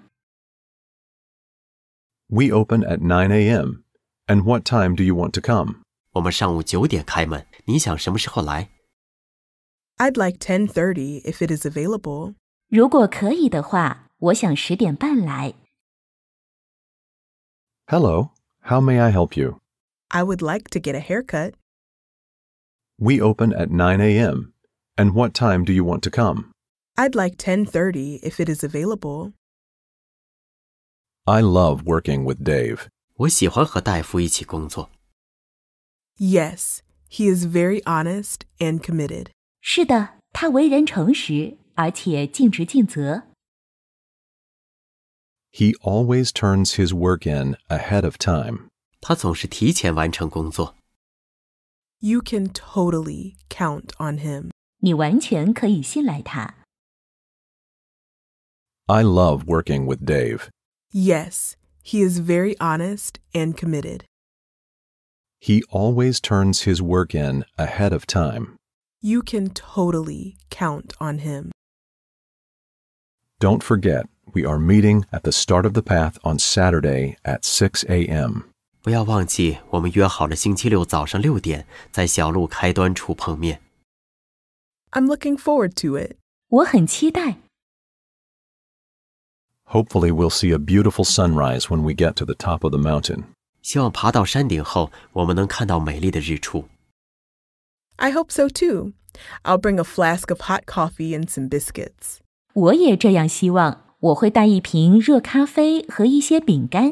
We open at 9 a.m. And what time do you want to come?
我们上午9点开门，你想什么时候来？
I'd like 10:30 if it is available.
如果可以的话，我想10点半来。
Hello. How may I help you?
I would like to get a haircut.
We open at 9 a.m. And what time do you want to come?
I'd like 10:30 if it is available.
I love working with Dave.
我喜欢和戴夫一起工作。
Yes, he is very honest and committed.
是的，他为人诚实，而且尽职尽责。
He always turns his work in ahead of time.
他总是提前完成工作。
You can totally count on him.
你完全可以信赖他。
I love working with Dave.
Yes, he is very honest and committed.
He always turns his work in ahead of time.
You can totally count on him.
Don't forget, we are meeting at the start of the path on Saturday at 6 a.m.
不要忘记，我们约好了星期六早上6点，在小路开端处碰面。
I'm looking forward to it.
我很期待。
Hopefully we'll see a beautiful sunrise when we get to the top of the mountain.
希望爬到山顶后，我们能看到美丽的日出。
I hope so too. I'll bring a flask of hot coffee and some biscuits.
我也这样希望。我会带一瓶热咖啡和一些饼干。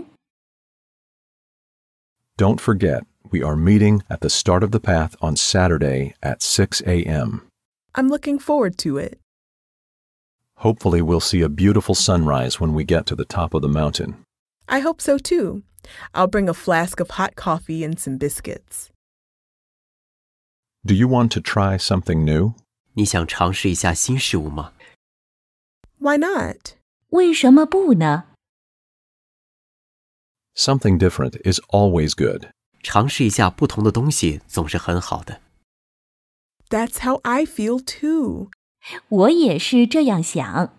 Don't forget, we are meeting at the start of the path on Saturday at 6 a.m.
I'm looking forward to it.
Hopefully we'll see a beautiful sunrise when we get to the top of the mountain.
I hope so too. I'll bring a flask of hot coffee and some biscuits.
Do you want to try something new?
你想尝试一下新事物吗？
Why not?
为什么不呢？
Something different is always good.
尝试一下不同的东西总是很好的。
That's how I feel too.
我也是这样想。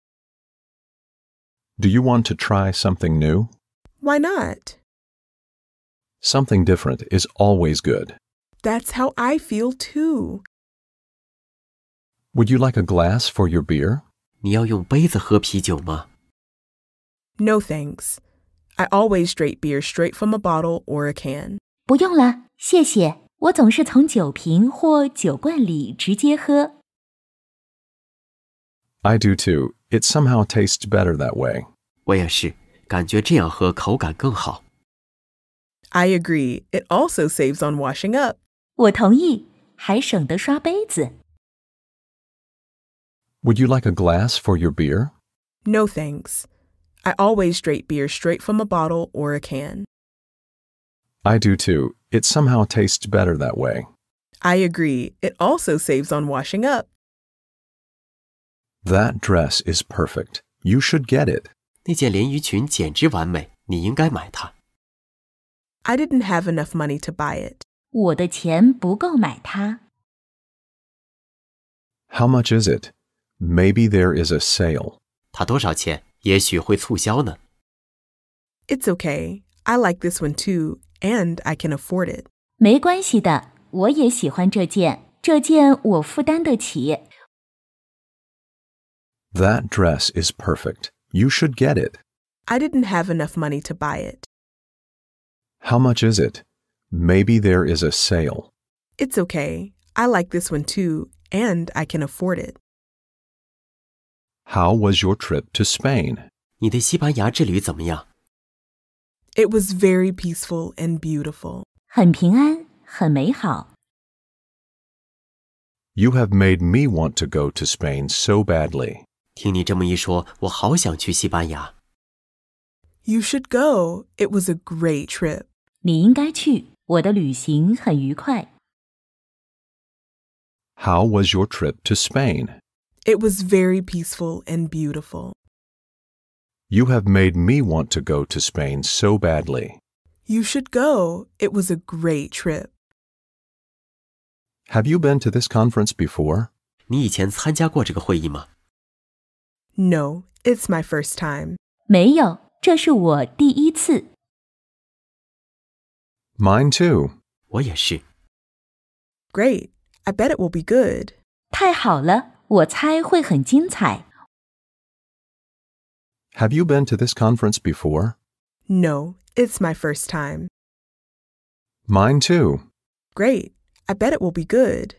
Do you want to try something new?
Why not?
Something different is always good.
That's how I feel too.
Would you like a glass for your beer?
你要用杯子喝啤酒吗？
No thanks. I always drink beer straight from a bottle or a can.
不用了，谢谢。我总是从酒瓶或酒罐里直接喝。
I do too. It somehow tastes better that way.
我也是，感觉这样喝口感更好。
I agree. It also saves on washing up.
我同意，还省得刷杯子。
Would you like a glass for your beer?
No thanks. I always drink beer straight from a bottle or a can.
I do too. It somehow tastes better that way.
I agree. It also saves on washing up.
That dress is perfect. You should get it.
那件连衣裙简直完美，你应该买它。
I didn't have enough money to buy it.
我的钱不够买它。
How much is it? Maybe there is a sale.
它多少钱？也许会促销呢。
It's okay. I like this one too, and I can afford it.
没关系的，我也喜欢这件，这件我负担得起。
That dress is perfect. You should get it.
I didn't have enough money to buy it.
How much is it? Maybe there is a sale.
It's okay. I like this one too, and I can afford it.
How was your trip to Spain?
你的西班牙之旅怎么样？
It was very peaceful and beautiful.
很平安，很美好。
You have made me want to go to Spain so badly.
听你这么一说，我好想去西班牙。
You should go. It was a great trip.
你应该去，我的旅行很愉快。
How was your trip to Spain?
It was very peaceful and beautiful.
You have made me want to go to Spain so badly.
You should go. It was a great trip.
Have you been to this conference before?
你以前参加过这个会议吗？
No, it's my first time.
没有，这是我第一次。
Mine too.
我也是。
Great. I bet it will be good.
太好了，我猜会很精彩。
Have you been to this conference before?
No, it's my first time.
Mine too.
Great. I bet it will be good.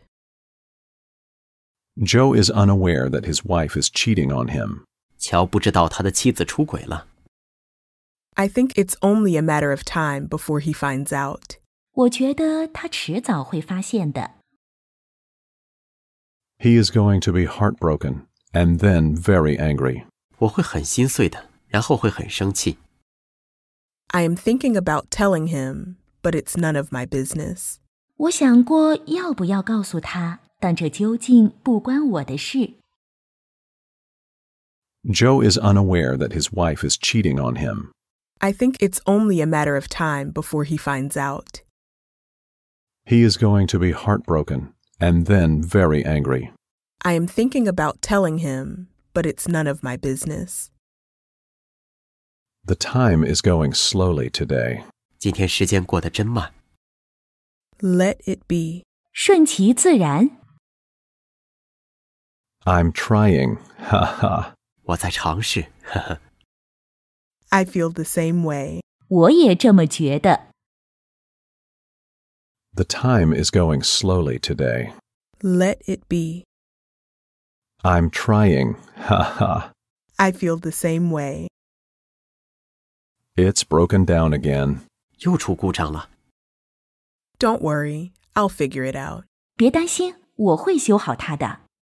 Joe is unaware that his wife is cheating on him.
乔不知道他的妻子出轨了。
I think it's only a matter of time before he finds out.
我觉得他迟早会发现的。
He is going to be heartbroken and then very angry.
我会很心碎的，然后会很生气。
I am thinking about telling him, but it's none of my business.
我想过要不要告诉他，但这究竟不关我的事。
Joe is unaware that his wife is cheating on him.
I think it's only a matter of time before he finds out.
He is going to be heartbroken and then very angry.
I am thinking about telling him, but it's none of my business.
The time is going slowly today.
今天时间过得真慢。
Let it be.
顺其自然。
I'm trying. Ha ha.
我在尝试，呵呵。
I feel the same way.
我也这么觉得。
The time is going slowly today.
Let it be.
I'm trying. Ha ha.
I feel the same way.
It's broken down again.
又出故障了。
Don't worry. I'll figure it out.
别担心，我会修好它的。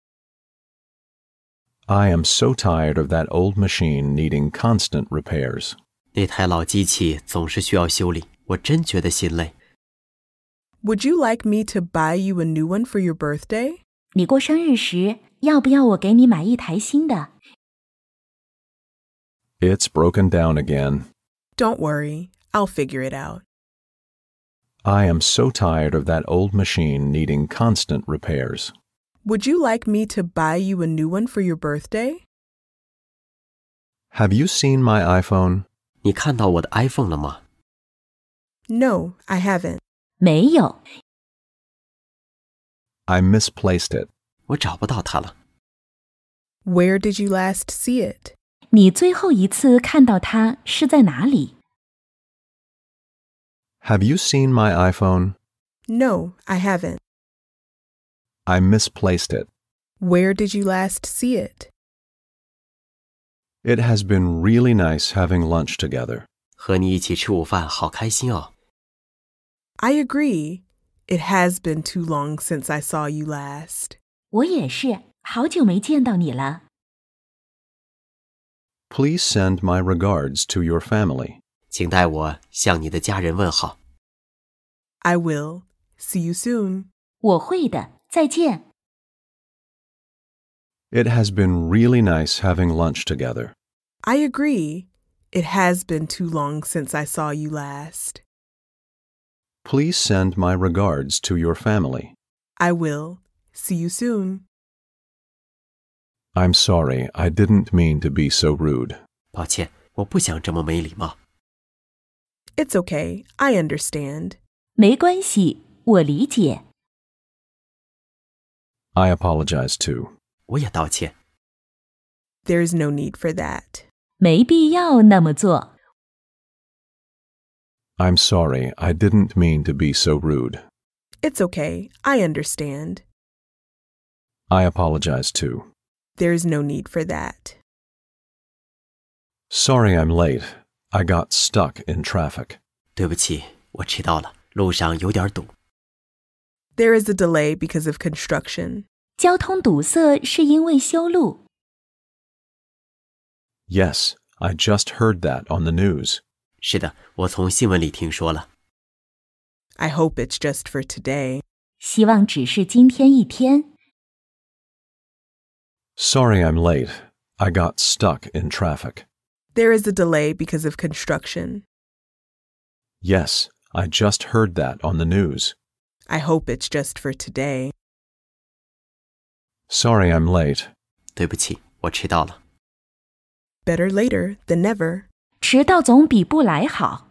I am so tired of that old machine needing constant repairs.
那台老机器总是需要修理，我真觉得心累。
Would you like me to buy you a new one for your birthday?
你过生日时，要不要我给你买一台新的？
It's broken down again.
Don't worry. I'll figure it out.
I am so tired of that old machine needing constant repairs.
Would you like me to buy you a new one for your birthday?
Have you seen my iPhone?
你看到我的 iPhone 了吗？
No, I haven't.
没有，
I misplaced it.
我找不到它了。
Where did you last see it?
你最后一次看到它是在哪里？
Have you seen my iPhone?
No, I haven't.
I misplaced it.
Where did you last see it?
It has been really nice having lunch together.
和你一起吃午饭，好开心哦。
I agree. It has been too long since I saw you last.
我也是，好久没见到你了。
Please send my regards to your family.
请代我向你的家人问好。
I will. See you soon.
我会的，再见。
It has been really nice having lunch together.
I agree. It has been too long since I saw you last.
Please send my regards to your family.
I will. See you soon.
I'm sorry, I didn't mean to be so rude.
抱歉，我不想这么没礼貌。
It's okay. I understand.
没关系，我理解。
I apologize too.
我也道歉。
There's no need for that.
没必要那么做。
I'm sorry, I didn't mean to be so rude.
It's okay. I understand.
I apologize too.
There's no need for that.
Sorry I'm late. I got stuck in traffic.
对不起，我迟到了，路上有点堵。
There is a delay because of construction.
交通堵塞是因为修路。
Yes, I just heard that on the news.
是的，我从新闻里听说了。
I hope it's just for today.
希望只是今天一天。
Sorry I'm late. I got stuck in traffic.
There is a delay because of construction.
Yes, I just heard that on the news.
I hope it's just for today.
Sorry I'm late.
对不起，我迟到了。
Better later than never.
迟到总比不来好。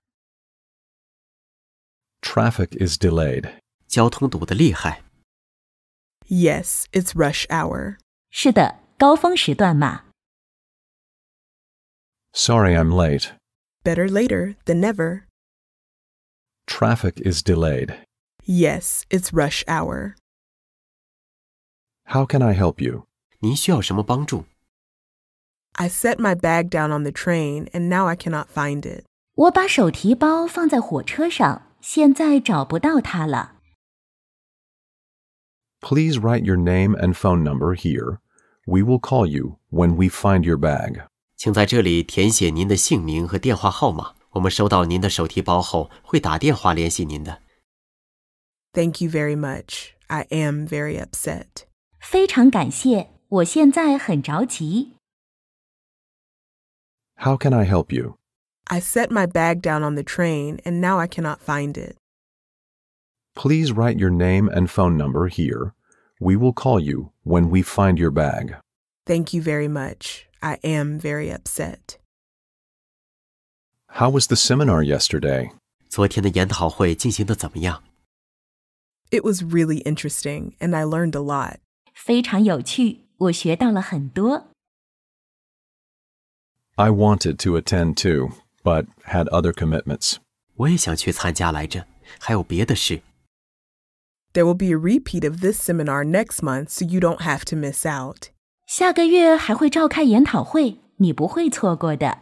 Traffic is delayed.
交通堵得厉害。
Yes, it's rush hour.
是的，高峰时段嘛。
Sorry I'm late.
Better later than never.
Traffic is delayed.
Yes, it's rush hour.
How can I help you?
您需要什么帮助？
I set my bag down on the train and now I cannot find it.
我把手提包放在火车上，现在找不到它了。
Please write your name and phone number here. We will call you when we find your bag.
请在这里填写您的姓名和电话号码。我们收到您的手提包后，会打电话联系您的。
Thank you very much. I am very upset.
非常感谢，我现在很着急。
How can I help you?
I set my bag down on the train and now I cannot find it.
Please write your name and phone number here. We will call you when we find your bag.
Thank you very much. I am very upset.
How was the seminar yesterday?
昨天的研讨会进行得怎么样？
It was really interesting and I learned a lot.
非常有趣，我学到了很多。
I wanted to attend too, but had other commitments.
我也想去参加来着，还有别的事。
There will be a repeat of this seminar next month so you don't have to miss out.
下个月还会召开研讨会，你不会错过的。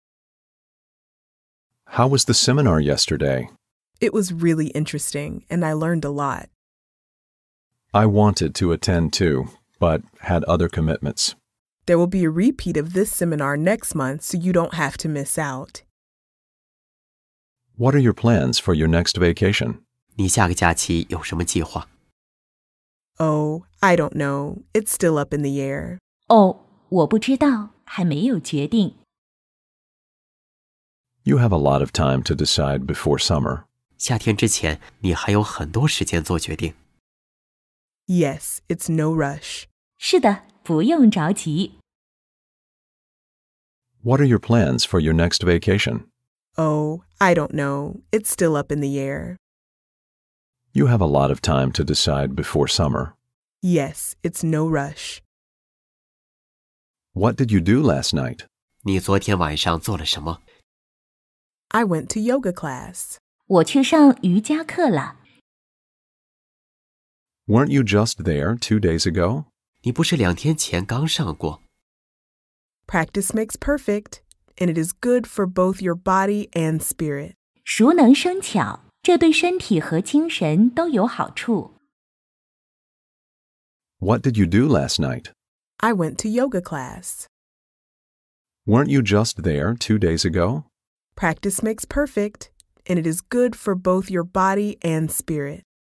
How was the seminar yesterday?
It was really interesting and I learned a lot.
I wanted to attend too, but had other commitments.
There will be a repeat of this seminar next month so you don't have to miss out.
What are your plans for your next vacation?
你下个假期有什么计划？
Oh, I don't know. It's still up in the air.
哦，我不知道，还没有决定。
You have a lot of time to decide before summer.
夏天之前，你还有很多时间做决定。
Yes, it's no rush.
是的，不用着急。
What are your plans for your next vacation?
Oh, I don't know. It's still up in the air.
You have a lot of time to decide before summer.
Yes, it's no rush.
What did you do last night?
你昨天晚上做了什么？
I went to yoga class.
我去上瑜伽课了。
Weren't you just there 2 days ago?
你不是2天前刚上过？
Practice makes perfect, and it is good for both your body and spirit.
熟能生巧，这对身体和精神都有好处。
What did you do last night?
I went to yoga class.
Weren't you just there 2 days ago?
Practice makes perfect, and it is good for both your body and spirit.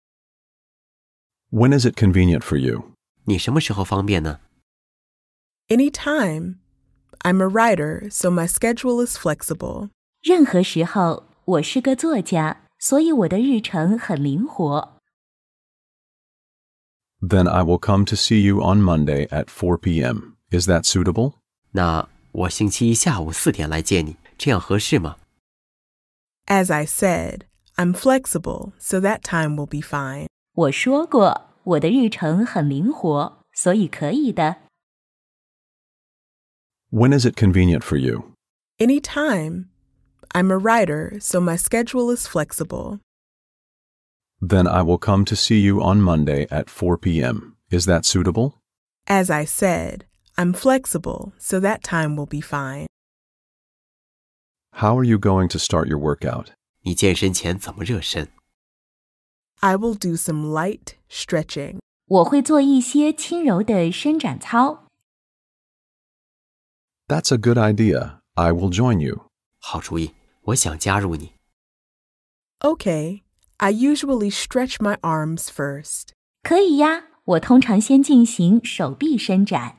When is it convenient for you?
你什么时候方便呢？
Anytime. I'm a writer, so my schedule is flexible.
任何时候，我是个作家，所以我的日程很灵活。
Then I will come to see you on Monday at 4 p.m. Is that suitable?
那我星期一下午4点来见你，这样合适吗？
As I said, I'm flexible, so that time will be fine.
我说过，我的日程很灵活，所以可以的。
When is it convenient for you?
Anytime. I'm a writer, so my schedule is flexible.
Then I will come to see you on Monday at 4 p.m. Is that suitable?
As I said, I'm flexible, so that time will be fine.
How are you going to start your workout?
你健身前怎么热身？
I will do some light stretching.
我会做一些轻柔的伸展操。
That's a good idea. I will join you.
好主意，我想加入你。
Okay, I usually stretch my arms first.
可以呀，我通常先进行手臂伸展。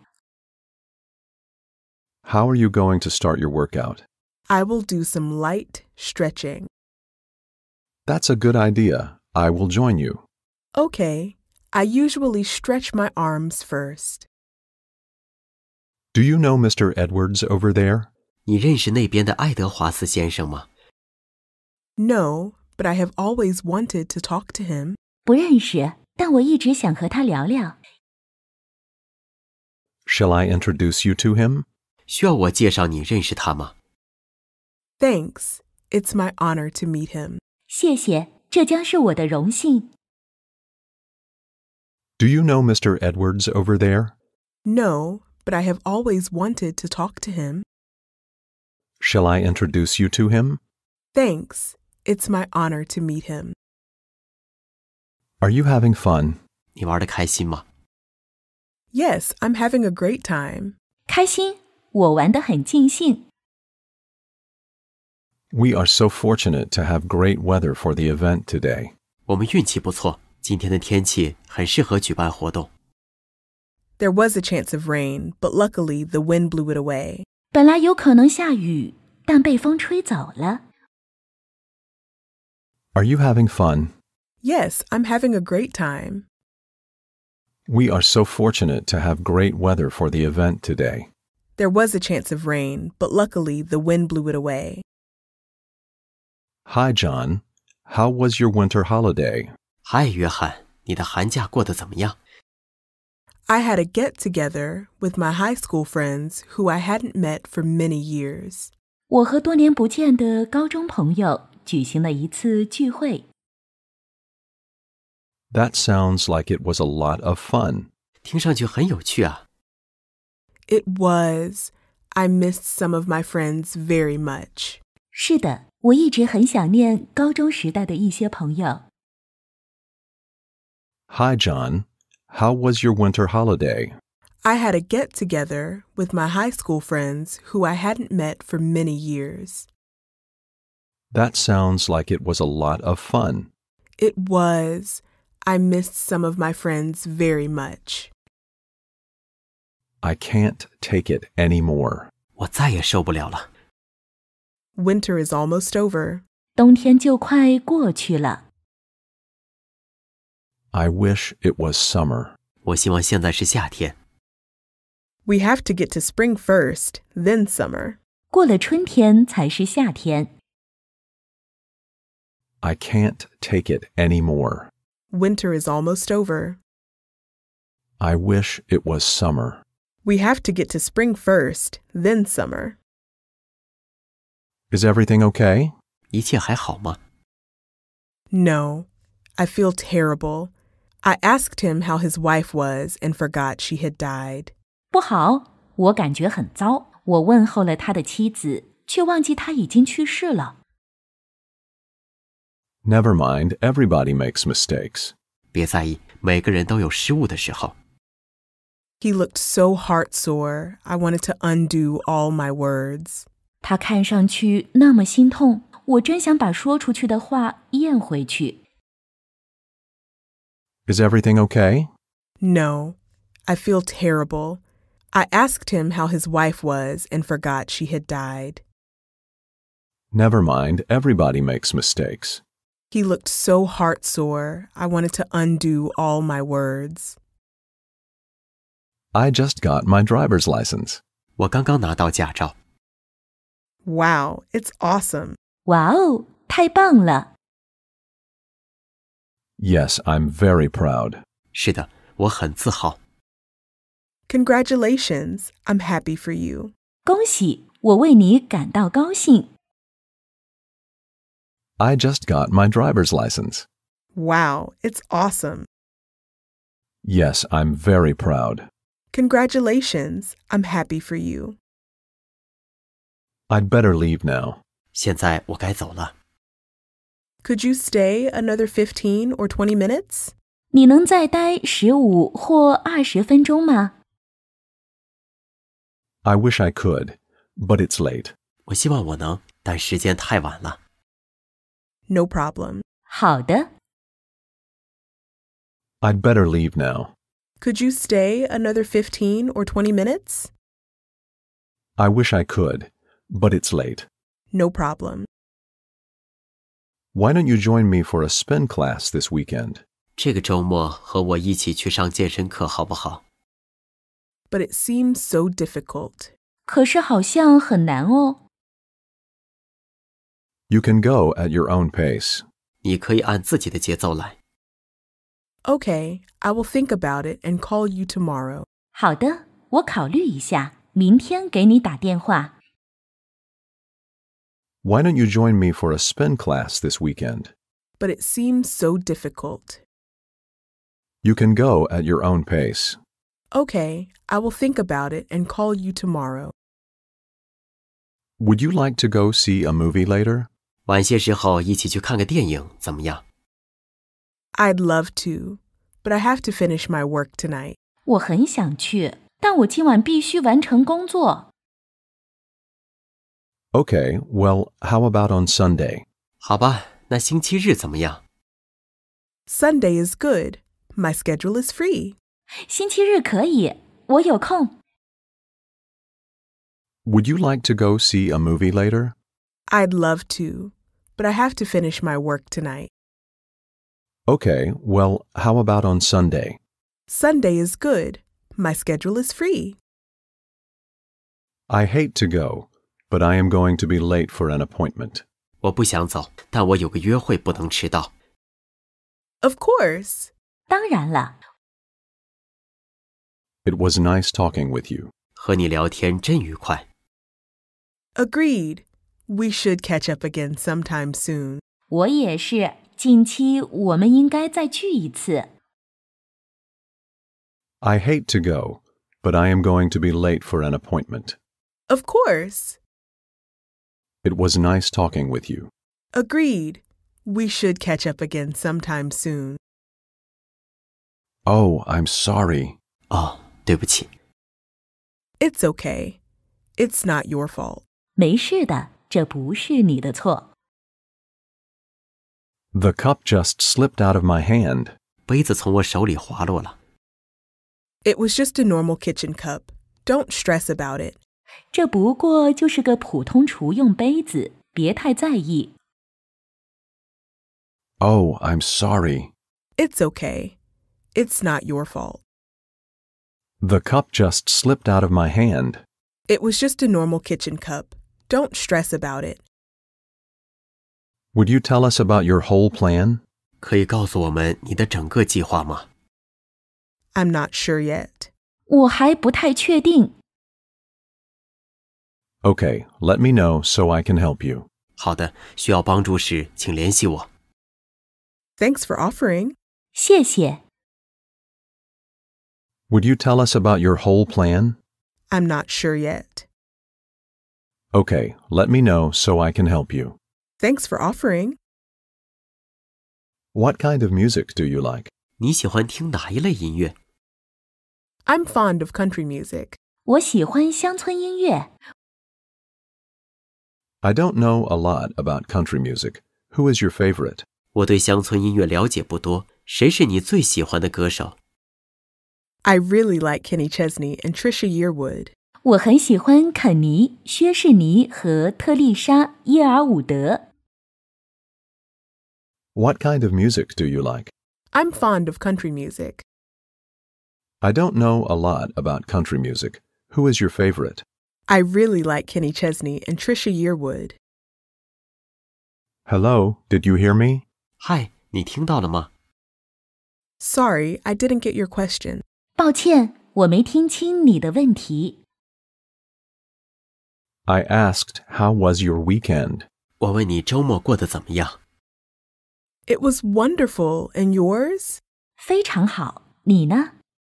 How are you going to start your workout?
I will do some light stretching.
That's a good idea. I will join you.
Okay, I usually stretch my arms first.
Do you know Mr. Edwards over there?
你认识那边的爱德华斯先生吗？
No, but I have always wanted to talk to him.
不认识，但我一直想和他聊聊。
Shall I introduce you to him?
需要我介绍你认识他吗？
Thanks. It's my honor to meet him.
谢谢，这将是我的荣幸。
Do you know Mr. Edwards over there?
No, but I have always wanted to talk to him.
Shall I introduce you to him?
Thanks. It's my honor to meet him.
Are you having fun?
你玩得开心吗？
Yes, I'm having a great time.
开心，我玩得很尽兴。
We are so fortunate to have great weather for the event today.
我们运气不错，今天的天气很适合举办活动。
There was a chance of rain, but luckily the wind blew it away.
本来有可能下雨，但被风吹走了。
Are you having fun?
Yes, I'm having a great time.
We are so fortunate to have great weather for the event today.
There was a chance of rain, but luckily the wind blew it away.
Hi, John. How was your winter holiday?
嗨，约翰，你的寒假过得怎么样？
I had a get-together with my high school friends who I hadn't met for many years.
我和多年不见的高中朋友举行了一次聚会。
That sounds like it was a lot of fun.
听上去很有趣啊。
It was. I missed some of my friends very much.
是的，我一直很想念高中时代的一些朋友。
Hi, John. How was your winter holiday?
I had a get-together with my high school friends who I hadn't met for many years.
That sounds like it was a lot of fun.
It was. I missed some of my friends very much.
I can't take it anymore.
我再也受不了了。
Winter is almost over.
冬天就快过去了。
I wish it was summer.
我希望现在是夏天。
We have to get to spring first, then summer.
过了春天才是夏天。
I can't take it anymore.
Winter is almost over.
I wish it was summer.
We have to get to spring first, then summer.
Is everything okay?
一切还好吗？
No, I feel terrible. I asked him how his wife was and forgot she had died.
不好，我感觉很糟。我问候了他的妻子，却忘记他已经去世了。
Never mind, everybody makes mistakes.
别在意，每个人都有失误的时候。
He looked so heartsore, I wanted to undo all my words.
他看上去那么心痛，我真想把说出去的话咽回去。
Is everything okay?
No, I feel terrible. I asked him how his wife was and forgot she had died.
Never mind, everybody makes mistakes.
He looked so heartsore, I wanted to undo all my words.
I just got my driver's license.
我刚刚拿到驾照。
Wow, it's awesome.
哇哦，太棒了！
Yes, I'm very proud.
是的，我很自豪。
Congratulations, I'm happy for you.
恭喜，我为你感到高兴。
I just got my driver's license.
Wow, it's awesome.
Yes, I'm very proud.
Congratulations, I'm happy for you.
I'd better leave now.
现在我该走了。
Could you stay another 15 or 20 minutes?
你能再待15或20分钟吗？
I wish I could, but it's late.
我希望我能，但时间太晚了。
No problem.
好的。
I'd better leave now.
Could you stay another 15 or 20 minutes?
I wish I could, but it's late.
No problem.
Why don't you join me for a spin class this weekend?
这个周末和我一起去上健身课好不好？
But it seems so difficult.
可是好像很难哦。
You can go at your own pace.
你可以按自己的节奏来。
Okay, I will think about it and call you tomorrow.
好的，我考虑一下，明天给你打电话。
Why don't you join me for a spin class this weekend?
But it seems so difficult.
You can go at your own pace.
Okay, I will think about it and call you tomorrow.
Would you like to go see a movie later?
晚些时候一起去看个电影怎么样？
I'd love to, but I have to finish my work tonight.
我很想去，但我今晚必须完成工作。
Okay, well, how about on Sunday?
好吧，那星期日怎么样？
Sunday is good. My schedule is free.
星期日可以，我有空。
Would you like to go see a movie later?
I'd love to, but I have to finish my work tonight.
Okay, well, how about on Sunday?
Sunday is good. My schedule is free.
I hate to go, but I am going to be late for an appointment.
我不想走，但我有个约会不能迟到。
Of course.
当然了，
It was nice talking with you.
和你聊天真愉快。
Agreed. We should catch up again sometime soon.
我也是。近期我们应该再聚一次。
I hate to go, but I am going to be late for an appointment.
Of course.
It was nice talking with you.
Agreed. We should catch up again sometime soon.
Oh, I'm sorry.
哦，对不起。
It's okay. It's not your fault.
没事的，这不是你的错。
The cup just slipped out of my hand.
杯子从我手里滑落了。
It was just a normal kitchen cup. Don't stress about it.
这不过就是个普通厨用杯子，别太在意。
Oh, I'm sorry.
It's okay. It's not your fault.
The cup just slipped out of my hand.
It was just a normal kitchen cup. Don't stress about it.
Would you tell us about your whole plan?
可以告诉我们你的整个计划吗？
I'm not sure yet.
我还不太确定。
Okay, let me know so I can help you.
好的，需要帮助时请联系我。
Thanks for offering.
谢谢。
Would you tell us about your whole plan?
I'm not sure yet.
Okay, let me know so I can help you.
Thanks for offering.
What kind of music do you like?
你喜欢听哪一类音乐？
I'm fond of country music.
我喜欢乡村音乐。
I don't know a lot about country music. Who is your favorite?
我对乡村音乐了解不多，谁是你最喜欢的歌手？
I really like Kenny Chesney and Trisha Yearwood.
我很喜欢肯尼、薛士尼和特丽莎·耶尔伍德。
What kind of music do you like?
I'm fond of country music.
I don't know a lot about country music. Who is your favorite?
I really like Kenny Chesney and Trisha Yearwood.
Hello, did you hear me?
嗨，你听到了吗？
Sorry, I didn't get your question.
抱歉，我没听清你的问题。
I asked, how was your weekend?
我问你周末过得怎么样？
It was wonderful, and yours?
非常好，你呢？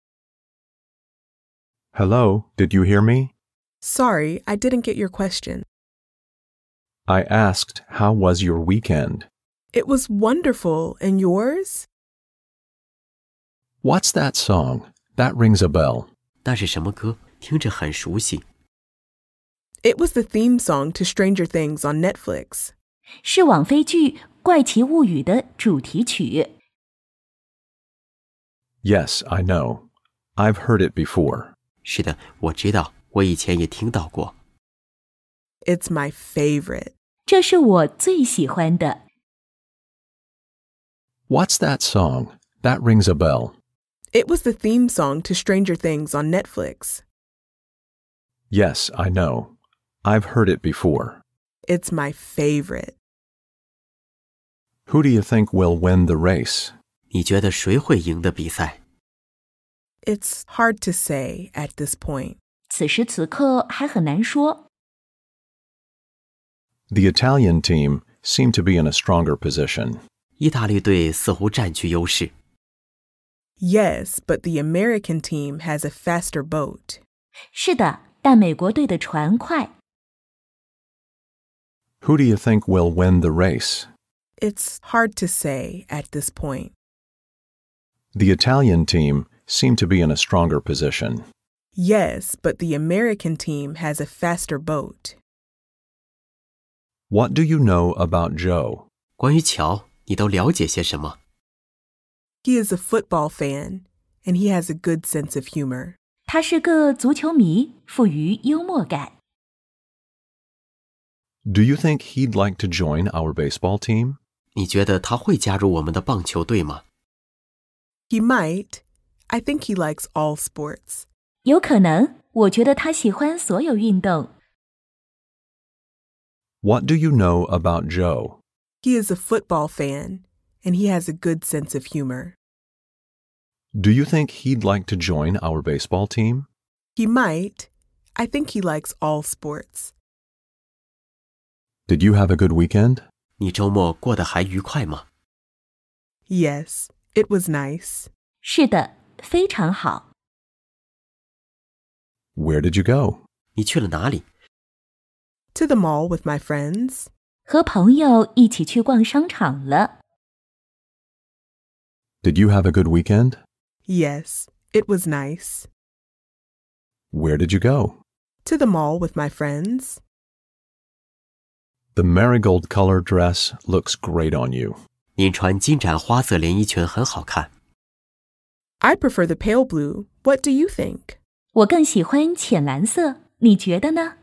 Hello, did you hear me?
Sorry, I didn't get your question.
I asked, how was your weekend?
It was wonderful. And yours?
What's that song? That rings a bell.
那是什么歌？听着很熟悉。
It was the theme song to Stranger Things on Netflix.
是网飞剧《怪奇物语》的主题曲。
Yes, I know. I've heard it before.
是的，我知道，我以前也听到过。
It's my favorite.
这是我最喜欢的。
What's that song? That rings a bell.
It was the theme song to Stranger Things on Netflix.
Yes, I know. I've heard it before.
It's my favorite.
Who do you think will win the race?
你觉得谁会赢的比赛？
It's hard to say at this point.
此时此刻还很难说。
The Italian team seem to be in a stronger position.
意大利队似乎占据优势。
Yes, but the American team has a faster boat.
是的，但美国队的船快。
Who do you think will win the race?
It's hard to say at this point.
The Italian team seem to be in a stronger position.
Yes, but the American team has a faster boat.
What do you know about Joe?
关于乔，你都了解些什么？
He is a football fan, and he has a good sense of humor.
他是个足球迷，富于幽默感。
Do you think he'd like to join our baseball team?
你觉得他会加入我们的棒球队吗？
He might. I think he likes all sports.
有可能，我觉得他喜欢所有运动。
What do you know about Joe?
He is a football fan, and he has a good sense of humor.
Do you think he'd like to join our baseball team?
He might. I think he likes all sports.
Did you have a good weekend?
你周末过得还愉快吗？
Yes, it was nice.
是的，非常好。
Where did you go?
你去了哪里？
To the mall with my friends.
和朋友一起去逛商场了。
Did you have a good weekend?
Yes, it was nice.
Where did you go?
To the mall with my friends.
The marigold color dress looks great on you.
您穿金盏花色连衣裙很好看。
I prefer the pale blue. What do you think?
我更喜欢浅蓝色，你觉得呢？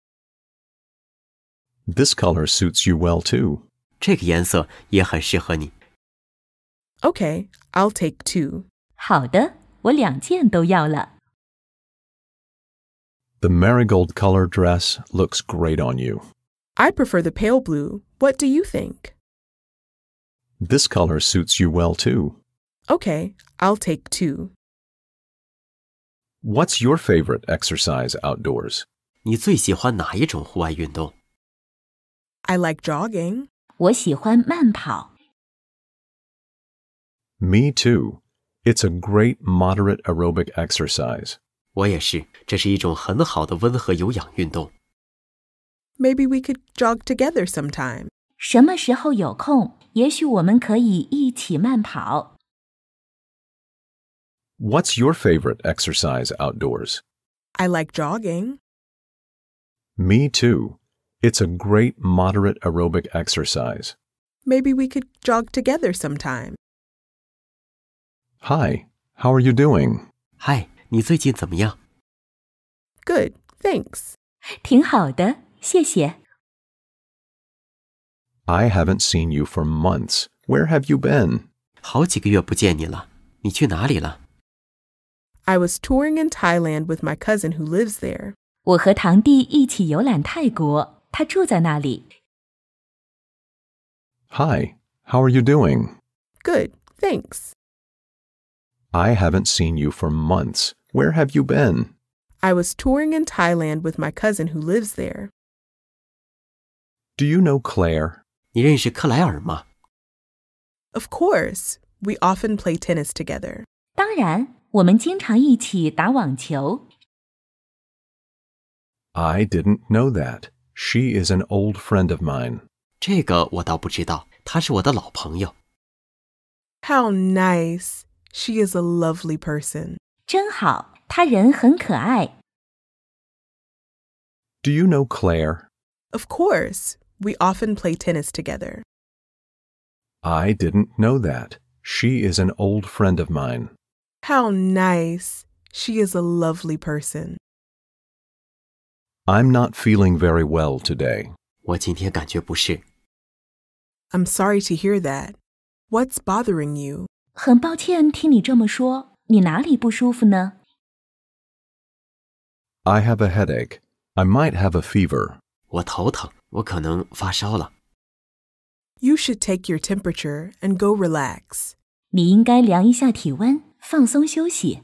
This color suits you well too.
这个颜色也很适合你。
Okay, I'll take 2.
好的，我2件都要了。
The marigold color dress looks great on you.
I prefer the pale blue. What do you think?
This color suits you well too.
Okay, I'll take 2.
What's your favorite exercise outdoors?
你最喜欢哪一种户外运动？
I like jogging.
我喜欢慢跑。
Me too. It's a great moderate aerobic exercise.
我也是，这是一种很好的温和有氧运动。
Maybe we could jog together sometime.
什么时候有空，也许我们可以一起慢跑。
What's your favorite exercise outdoors?
I like jogging.
Me too. It's a great moderate aerobic exercise.
Maybe we could jog together sometime.
Hi, how are you doing?
嗨，你最近怎么样？
Good, thanks.
挺好的，谢谢。
I haven't seen you for months. Where have you been?
好几个月不见你了，你去哪里了？
I was touring in Thailand with my cousin who lives there.
我和堂弟一起游览泰国，他住在那里。
Hi, how are you doing?
Good, thanks.
I haven't seen you for months. Where have you been?
I was touring in Thailand with my cousin who lives there.
Do you know Claire?
你认识克莱尔吗？
Of course, we often play tennis together.
当然，我们经常一起打网球。
I didn't know that. She is an old friend of mine.
这个我倒不知道， 她是我的老朋友。
How nice. She is a lovely person.
真好，她人很可爱。
Do you know Claire?
Of course. We often play tennis together.
I didn't know that. She is an old friend of mine.
How nice. She is a lovely person.
I'm not feeling very well today.
我今天感觉不适。
I'm sorry to hear that. What's bothering you?
很抱歉听你这么说，你哪里不舒服呢？
I have a headache. I might have a fever.
我头疼，我可能发烧了。
You should take your temperature and go relax.
你应该量一下体温，放松休息。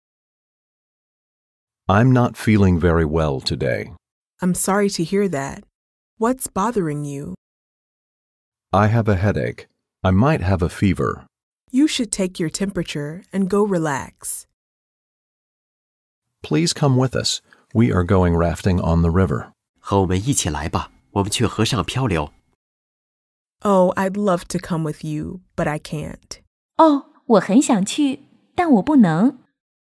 I'm not feeling very well today.
I'm sorry to hear that. What's bothering you?
I have a headache. I might have a fever.
You should take your temperature and go relax.
Please come with us. We are going rafting on the river.
和我们一起来吧，我们去河上漂流。
Oh, I'd love to come with you, but I can't.
哦，我很想去，但我不能。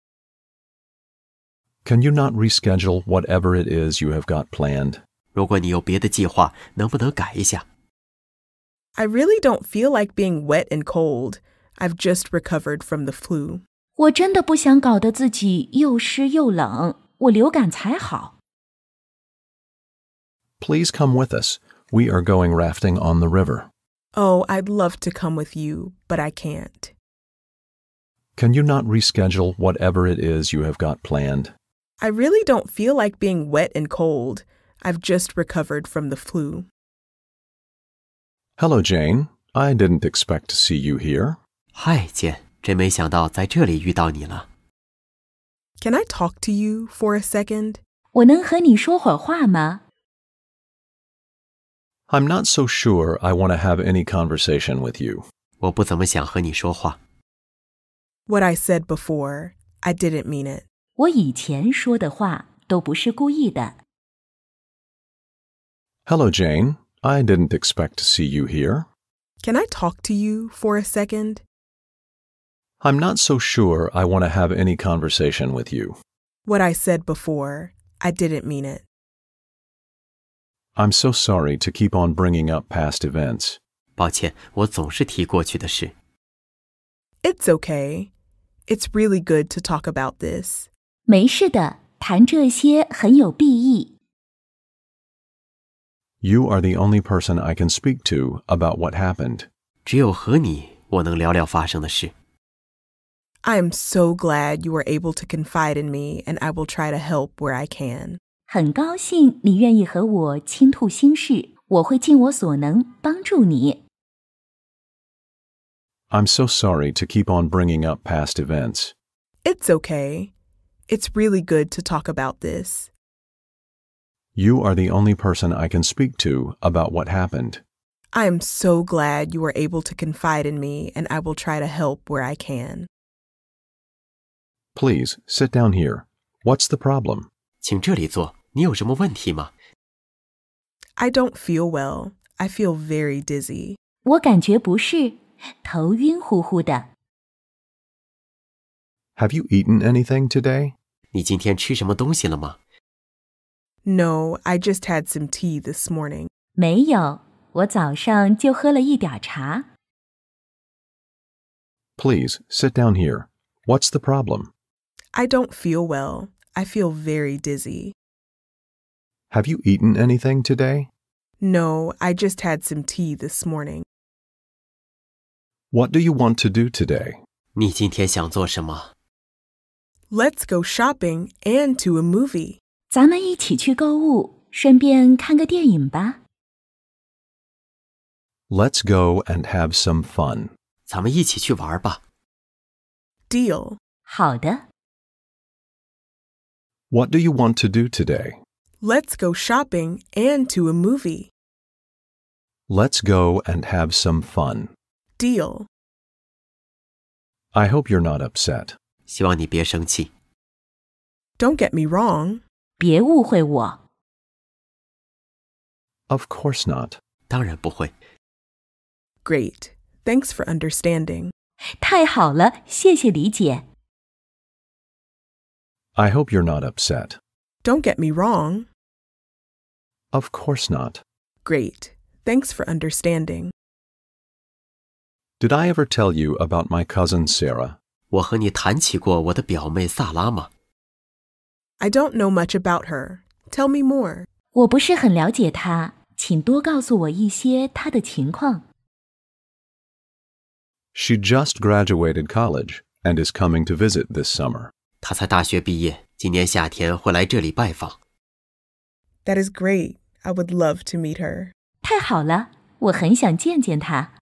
Can you not reschedule whatever it is you have got planned?
如果你有别的计划，能不能改一下？
I really don't feel like being wet and cold. I've just recovered from the flu.
我真的不想搞得自己又湿又冷，我流感才好。
Please come with us. We are going rafting on the river.
Oh, I'd love to come with you, but I can't.
Can you not reschedule whatever it is you have got planned?
I really don't feel like being wet and cold. I've just recovered from the flu.
Hello, Jane. I didn't expect to see you here.
嗨，简，真没想到在这里遇到你了。
Can I talk to you for a second?
我能和你说会儿话吗？
I'm not so sure I want to have any conversation with you.
我不怎么想和你说话。
What I said before, I didn't mean it.
我以前说的话都不是故意的。
Hello, Jane. I didn't expect to see you here.
Can I talk to you for a second?
I'm not so sure I want to have any conversation with you.
What I said before, I didn't mean it.
I'm so sorry to keep on bringing up past events.
抱歉，我总是提过去的事。
It's okay. It's really good to talk about this.
没事的，谈这些很有裨益。
You are the only person I can speak to about what happened.
只有和你，我能聊聊发生的事。
I am so glad you were able to confide in me, and I will try to help where I can.
很高兴你愿意和我倾吐心事，我会尽我所能帮助你。
I'm so sorry to keep on bringing up past events.
It's okay. It's really good to talk about this.
You are the only person I can speak to about what happened.
I am so glad you were able to confide in me, and I will try to help where I can.
Please, sit down here. What's the problem?
请这里坐，你有什么问题吗？
I don't feel well. I feel very dizzy.
我感觉不适，头晕乎乎的。
Have you eaten anything today?
你今天吃什么东西了吗？
No, I just had some tea this morning.
没有，我早上就喝了一点茶。
Please, sit down here. What's the problem?
I don't feel well. I feel very dizzy.
Have you eaten anything today?
No, I just had some tea this morning.
What do you want to do today?
你今天想做什么？
Let's go shopping and to a movie.
咱们一起去购物，顺便看个电影吧。
Let's go and have some fun.
咱们一起去玩吧。
Deal.
好的，
What do you want to do today?
Let's go shopping and to a movie.
Let's go and have some fun.
Deal.
I hope you're not upset.
希望你别生气。
Don't get me wrong.
别误会我。
Of course not.
当然不会。
Great. Thanks for understanding.
太好了，谢谢理解。
I hope you're not upset.
Don't get me wrong.
Of course not.
Great. Thanks for understanding.
Did I ever tell you about my cousin Sarah?
我和你谈起过我的表妹萨拉吗？
I don't know much about her. Tell me more.
我不是很了解她，请多告诉我一些她的情况。
She just graduated college and is coming to visit this summer.
她才大学毕业，今年夏天会来这里拜访。
That is great. I would love to meet her.
太好了，我很想见见她。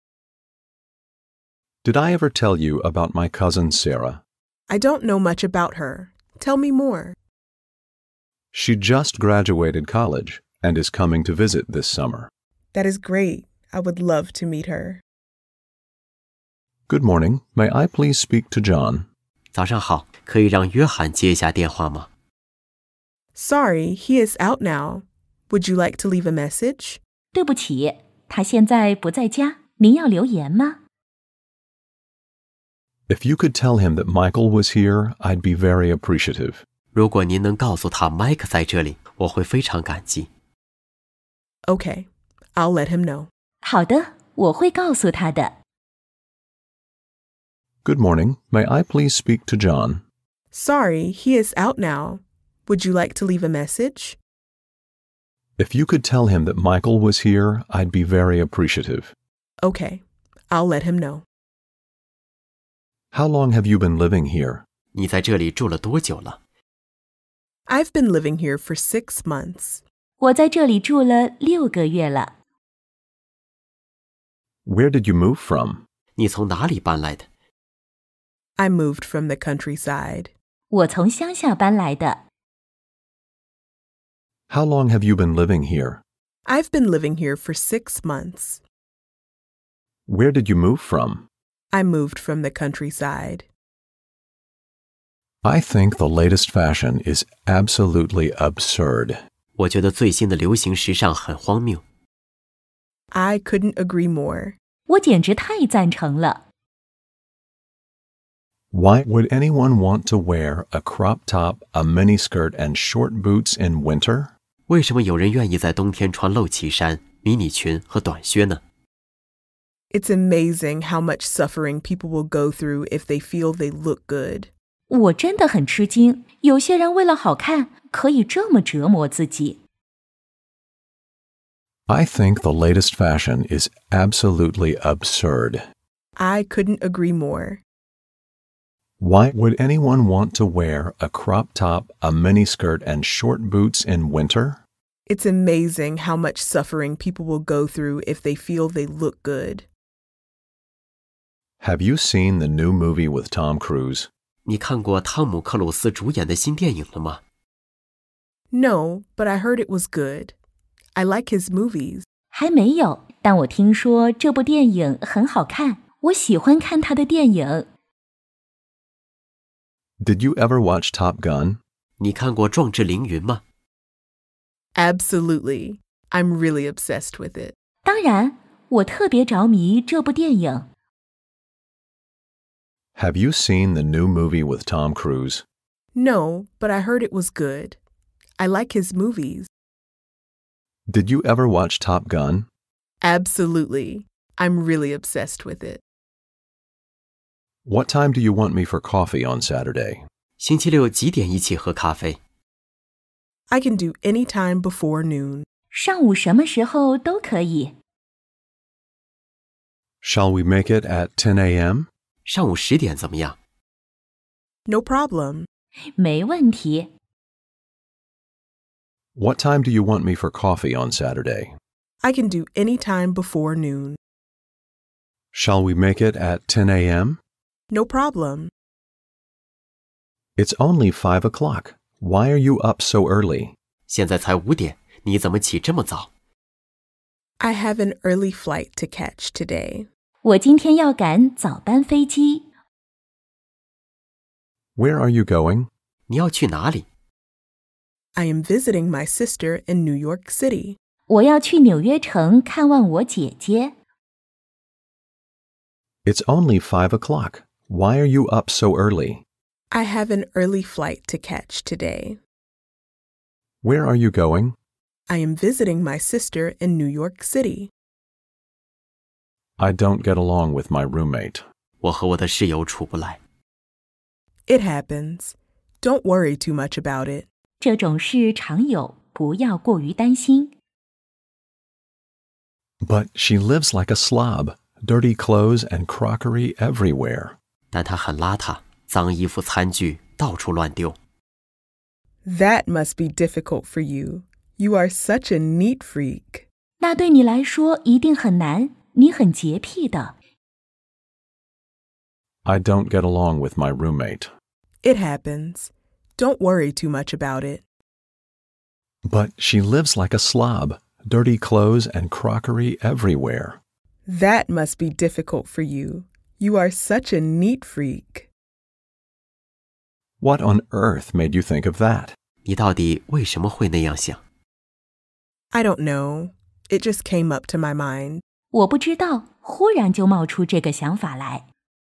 Did I ever tell you about my cousin Sarah?
I don't know much about her. Tell me more.
She just graduated college and is coming to visit this summer.
That is great. I would love to meet her.
Good morning. May I please speak to John?
早上好，可以让约翰接一下电话吗？
Sorry, he is out now. Would you like to leave a message?
对不起，她现在不在家，您要留言吗？
If you could tell him that Michael was here, I'd be very appreciative.
如果您能告诉他麦克在这里，我会非常感激。
Okay, I'll let him know.
好的，我会告诉她的。
Good morning. May I please speak to John?
Sorry, he is out now. Would you like to leave a message?
If you could tell him that Michael was here, I'd be very appreciative.
Okay, I'll let him know.
How long have you been living here?
你在这里住了多久了？
I've been living here for 6 months.
我在这里住了6个月了。
Where did you move from?
你从哪里搬来的？
I moved from the countryside.
我从乡下搬来的。
How long have you been living here?
I've been living here for 6 months.
Where did you move from?
I moved from the countryside.
I think the latest fashion is absolutely absurd.
我觉得最新的流行时尚很荒谬。
I couldn't agree more.
我简直太赞成了。
Why would anyone want to wear a crop top, a miniskirt, and short boots in winter?
为什么有人愿意在冬天穿露脐衫、迷你裙和短靴呢？
It's amazing how much suffering people will go through if they feel they look good.
我真的很吃惊，有些人为了好看，可以这么折磨自己。
I think the latest fashion is absolutely absurd.
I couldn't agree more.
Why would anyone want to wear a crop top, a miniskirt, and short boots in winter?
It's amazing how much suffering people will go through if they feel they look good.
Have you seen the new movie with Tom Cruise?
你看过汤姆·克鲁斯主演的新电影了吗？
No, but I heard it was good. I like his movies.
还没有，但我听说这部电影很好看，我喜欢看他的电影。
Did you ever watch Top Gun?
你看过《壮志凌云》吗？
Absolutely. I'm really obsessed with it.
当然，我特别着迷这部电影。
Have you seen the new movie with Tom Cruise?
No, but I heard it was good. I like his movies.
Did you ever watch Top Gun?
Absolutely. I'm really obsessed with it.
What time do you want me for coffee on Saturday?
星期六几点一起喝咖啡？
I can do any time before noon.
上午什么时候都可以。
Shall we make it at 10 a.m.?
上午10点怎么样？
No problem.
没问题。
What time do you want me for coffee on Saturday?
I can do any time before noon.
Shall we make it at 10 a.m.?
No problem.
It's only 5 o'clock. Why are you up so early?
现在才5点，你怎么起这么早？
I have an early flight to catch today.
我今天要赶早班飞机。
Where are you going?
你要去哪里？
I am visiting my sister in New York City.
我要去纽约城看望我姐姐。
It's only 5 o'clock. Why are you up so early?
I have an early flight to catch today.
Where are you going?
I am visiting my sister in New York City.
I don't get along with my roommate.
我和我的室友处不来。
It happens. Don't worry too much about it.
这种事常有，不要过于担心。
But she lives like a slob. Dirty clothes and crockery everywhere.
但他很邋遢，脏衣服、餐具到处乱丢。
That must be difficult for you. You are such a neat freak.
那对你来说一定很难，你很洁癖的。
I don't get along with my roommate.
It happens. Don't worry too much about it.
But she lives like a slob. Dirty clothes and crockery everywhere.
That must be difficult for you. You are such a neat freak.
What on earth made you think of that?
你到底为什么会那样想？
I don't know. It just came up to my mind.
我不知道，忽然就冒出这个想法来。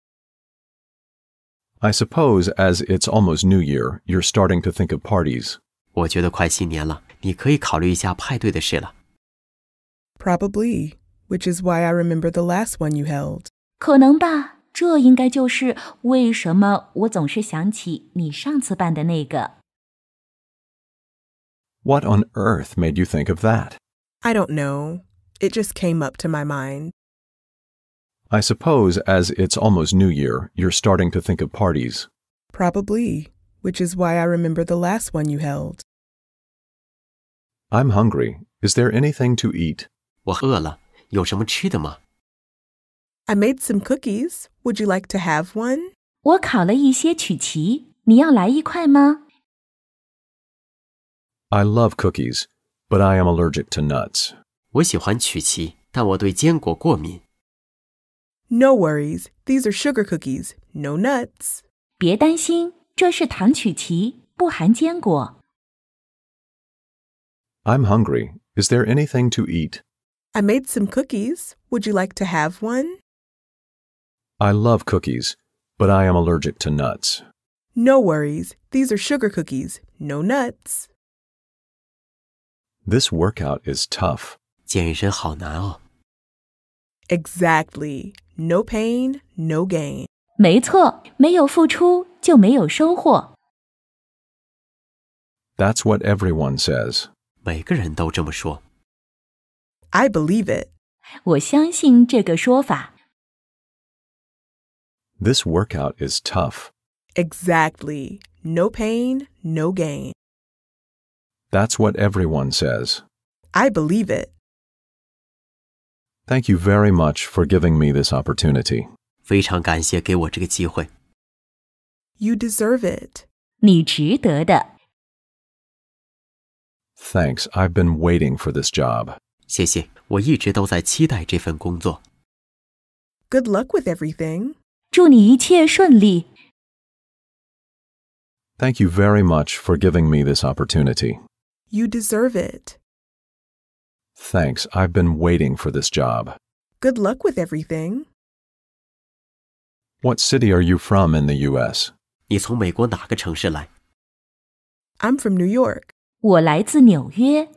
I suppose as it's almost New Year, you're starting to think of parties.
我觉得快新年了，你可以考虑一下派对的事了。
Probably, which is why I remember the last one you held.
可能吧，这应该就是为什么我总是想起你上次办的那个。
What on earth made you think of that?
I don't know. It just came up to my mind.
I suppose as it's almost New Year, you're starting to think of parties.
Probably, which is why I remember the last one you held.
I'm hungry. Is there anything to eat?
我饿了，有什么吃的吗？
I made some cookies. Would you like to have one?
我烤了一些曲奇，你要来一块吗？
I love cookies, but I am allergic to nuts.
我喜欢曲奇，但我对坚果过敏。
No worries. These are sugar cookies. No nuts.
别担心，这是糖曲奇，不含坚果。
I'm hungry. Is there anything to eat?
I made some cookies. Would you like to have one?
I love cookies, but I am allergic to nuts.
No worries. These are sugar cookies. No nuts.
This workout is tough.
健身好难哦。
Exactly. No pain, no gain.
没错，没有付出就没有收获。
That's what everyone says.
每个人都这么说。
I believe it.
我相信这个说法。
This workout is tough.
Exactly. No pain, no gain.
That's what everyone says.
I believe it.
Thank you very much for giving me this opportunity.
非常感谢给我这个机会。
You deserve it.
你值得的。
Thanks. I've been waiting for this job.
谢谢，我一直都在期待这份工作。
Good luck with everything.
祝你一切顺利。
Thank you very much for giving me this opportunity.
You deserve it.
Thanks. I've been waiting for this job.
Good luck with everything.
What city are you from in the U.S.?
你从美国哪个城市来？
I'm from New York.
我来自纽约，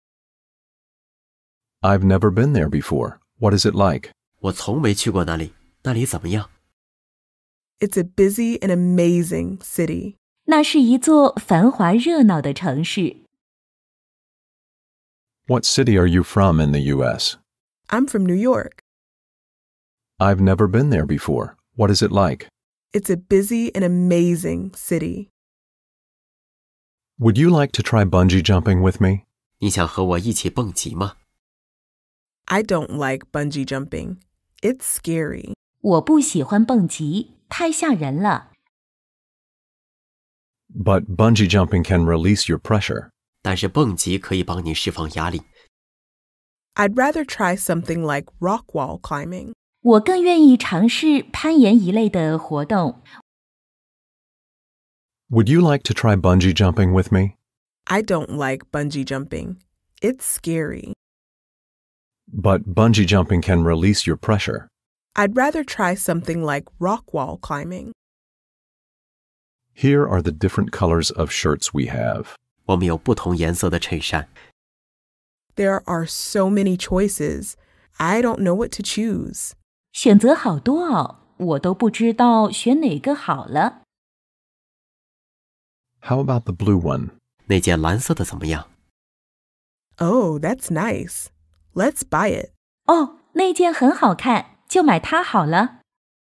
I've never been there before. What is it like?
我从没去过那里，那里怎么样？
It's a busy and amazing city.
那是一座繁华热闹的城市。
What city are you from in the U.S.?
I'm from New York.
I've never been there before. What is it like?
It's a busy and amazing city.
Would you like to try bungee jumping with me?
你想和我一起蹦极吗？
I don't like bungee jumping. It's scary.
我不喜欢蹦极，太吓人了。
But bungee jumping can release your pressure.
但是蹦极可以帮你释放压力。
I'd rather try something like rock wall climbing.
我更愿意尝试攀岩一类的活动。
Would you like to try bungee jumping with me?
I don't like bungee jumping. It's scary.
But bungee jumping can release your pressure.
I'd rather try something like rock wall climbing.
Here are the different colors of shirts we have.
我们有不同颜色的衬衫。
There are so many choices. I don't know what to choose.
选择好多哦，我都不知道选哪个好了。
How about the blue one?
那件蓝色的怎么样？
Oh, that's nice. Let's buy it.
哦，那件很好看，就买它好了。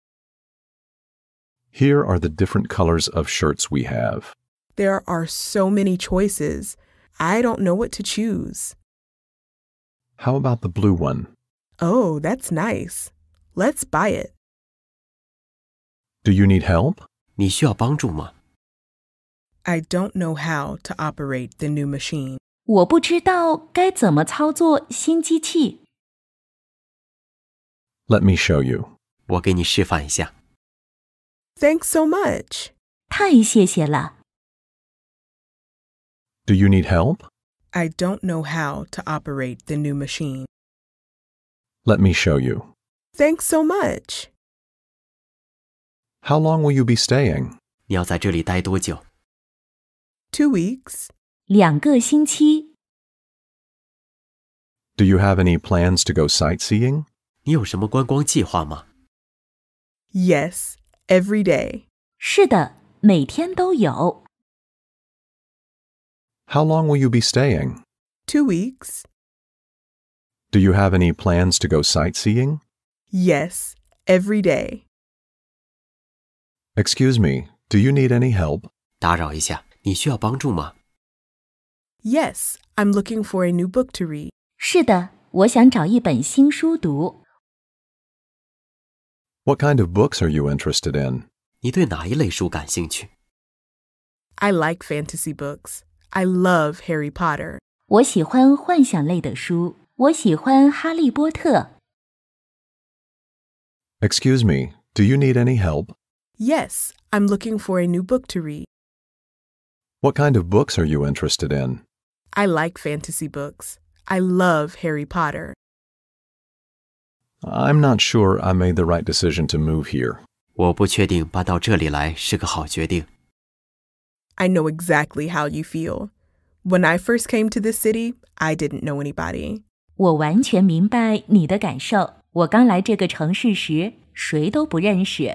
Here are the different colors of shirts we have.
There are so many choices. I don't know what to choose.
How about the blue one?
Oh, that's nice. Let's buy it.
Do you need help?
你需要帮助吗？
I don't know how to operate the new machine.
我不知道该怎么操作新机器。
Let me show you.
我给你示范一下。
Thanks so much.
太谢谢了。
Do you need help?
I don't know how to operate the new machine.
Let me show you.
Thanks so much.
How long will you be staying?
你要在这里待多久？
2 weeks.
2个星期。
Do you have any plans to go sightseeing?
你有什么观光计划吗？
Yes, every day.
是的，每天都有。
How long will you be staying?
2 weeks.
Do you have any plans to go sightseeing?
Yes, every day.
Excuse me, do you need any help?
打扰一下，你需要帮助吗？
Yes, I'm looking for a new book to read.
是的，我想找一本新书读。
What kind of books are you interested in?
你对哪一类书感兴趣？
I like fantasy books. I love Harry Potter.
我喜欢幻想类的书，我喜欢哈利波特。
Excuse me, do you need any help?
Yes, I'm looking for a new book to read.
What kind of books are you interested in?
I like fantasy books. I love Harry Potter.
I'm not sure I made the right decision to move here.
我不确定搬到这里来是个好决定。
I know exactly how you feel. When I first came to this city, I didn't know anybody.
我完全明白你的感受。我刚来这个城市时，谁都不认识。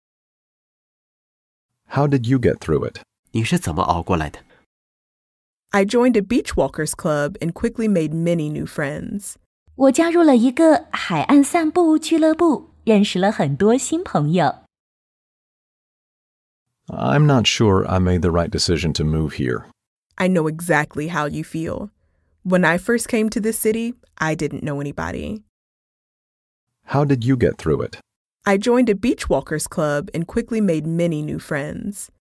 How did you get through it?
你是怎么熬过来的？
I joined a beach walkers club and quickly made many new friends.
我加入了一个海岸散步俱乐部，认识了很多新朋友。
I'm not sure I made the right decision to move here.
I know exactly how you feel. When I first came to this city, I didn't know anybody.
How did you get through it?
I joined a beach walkers club and quickly made many new friends.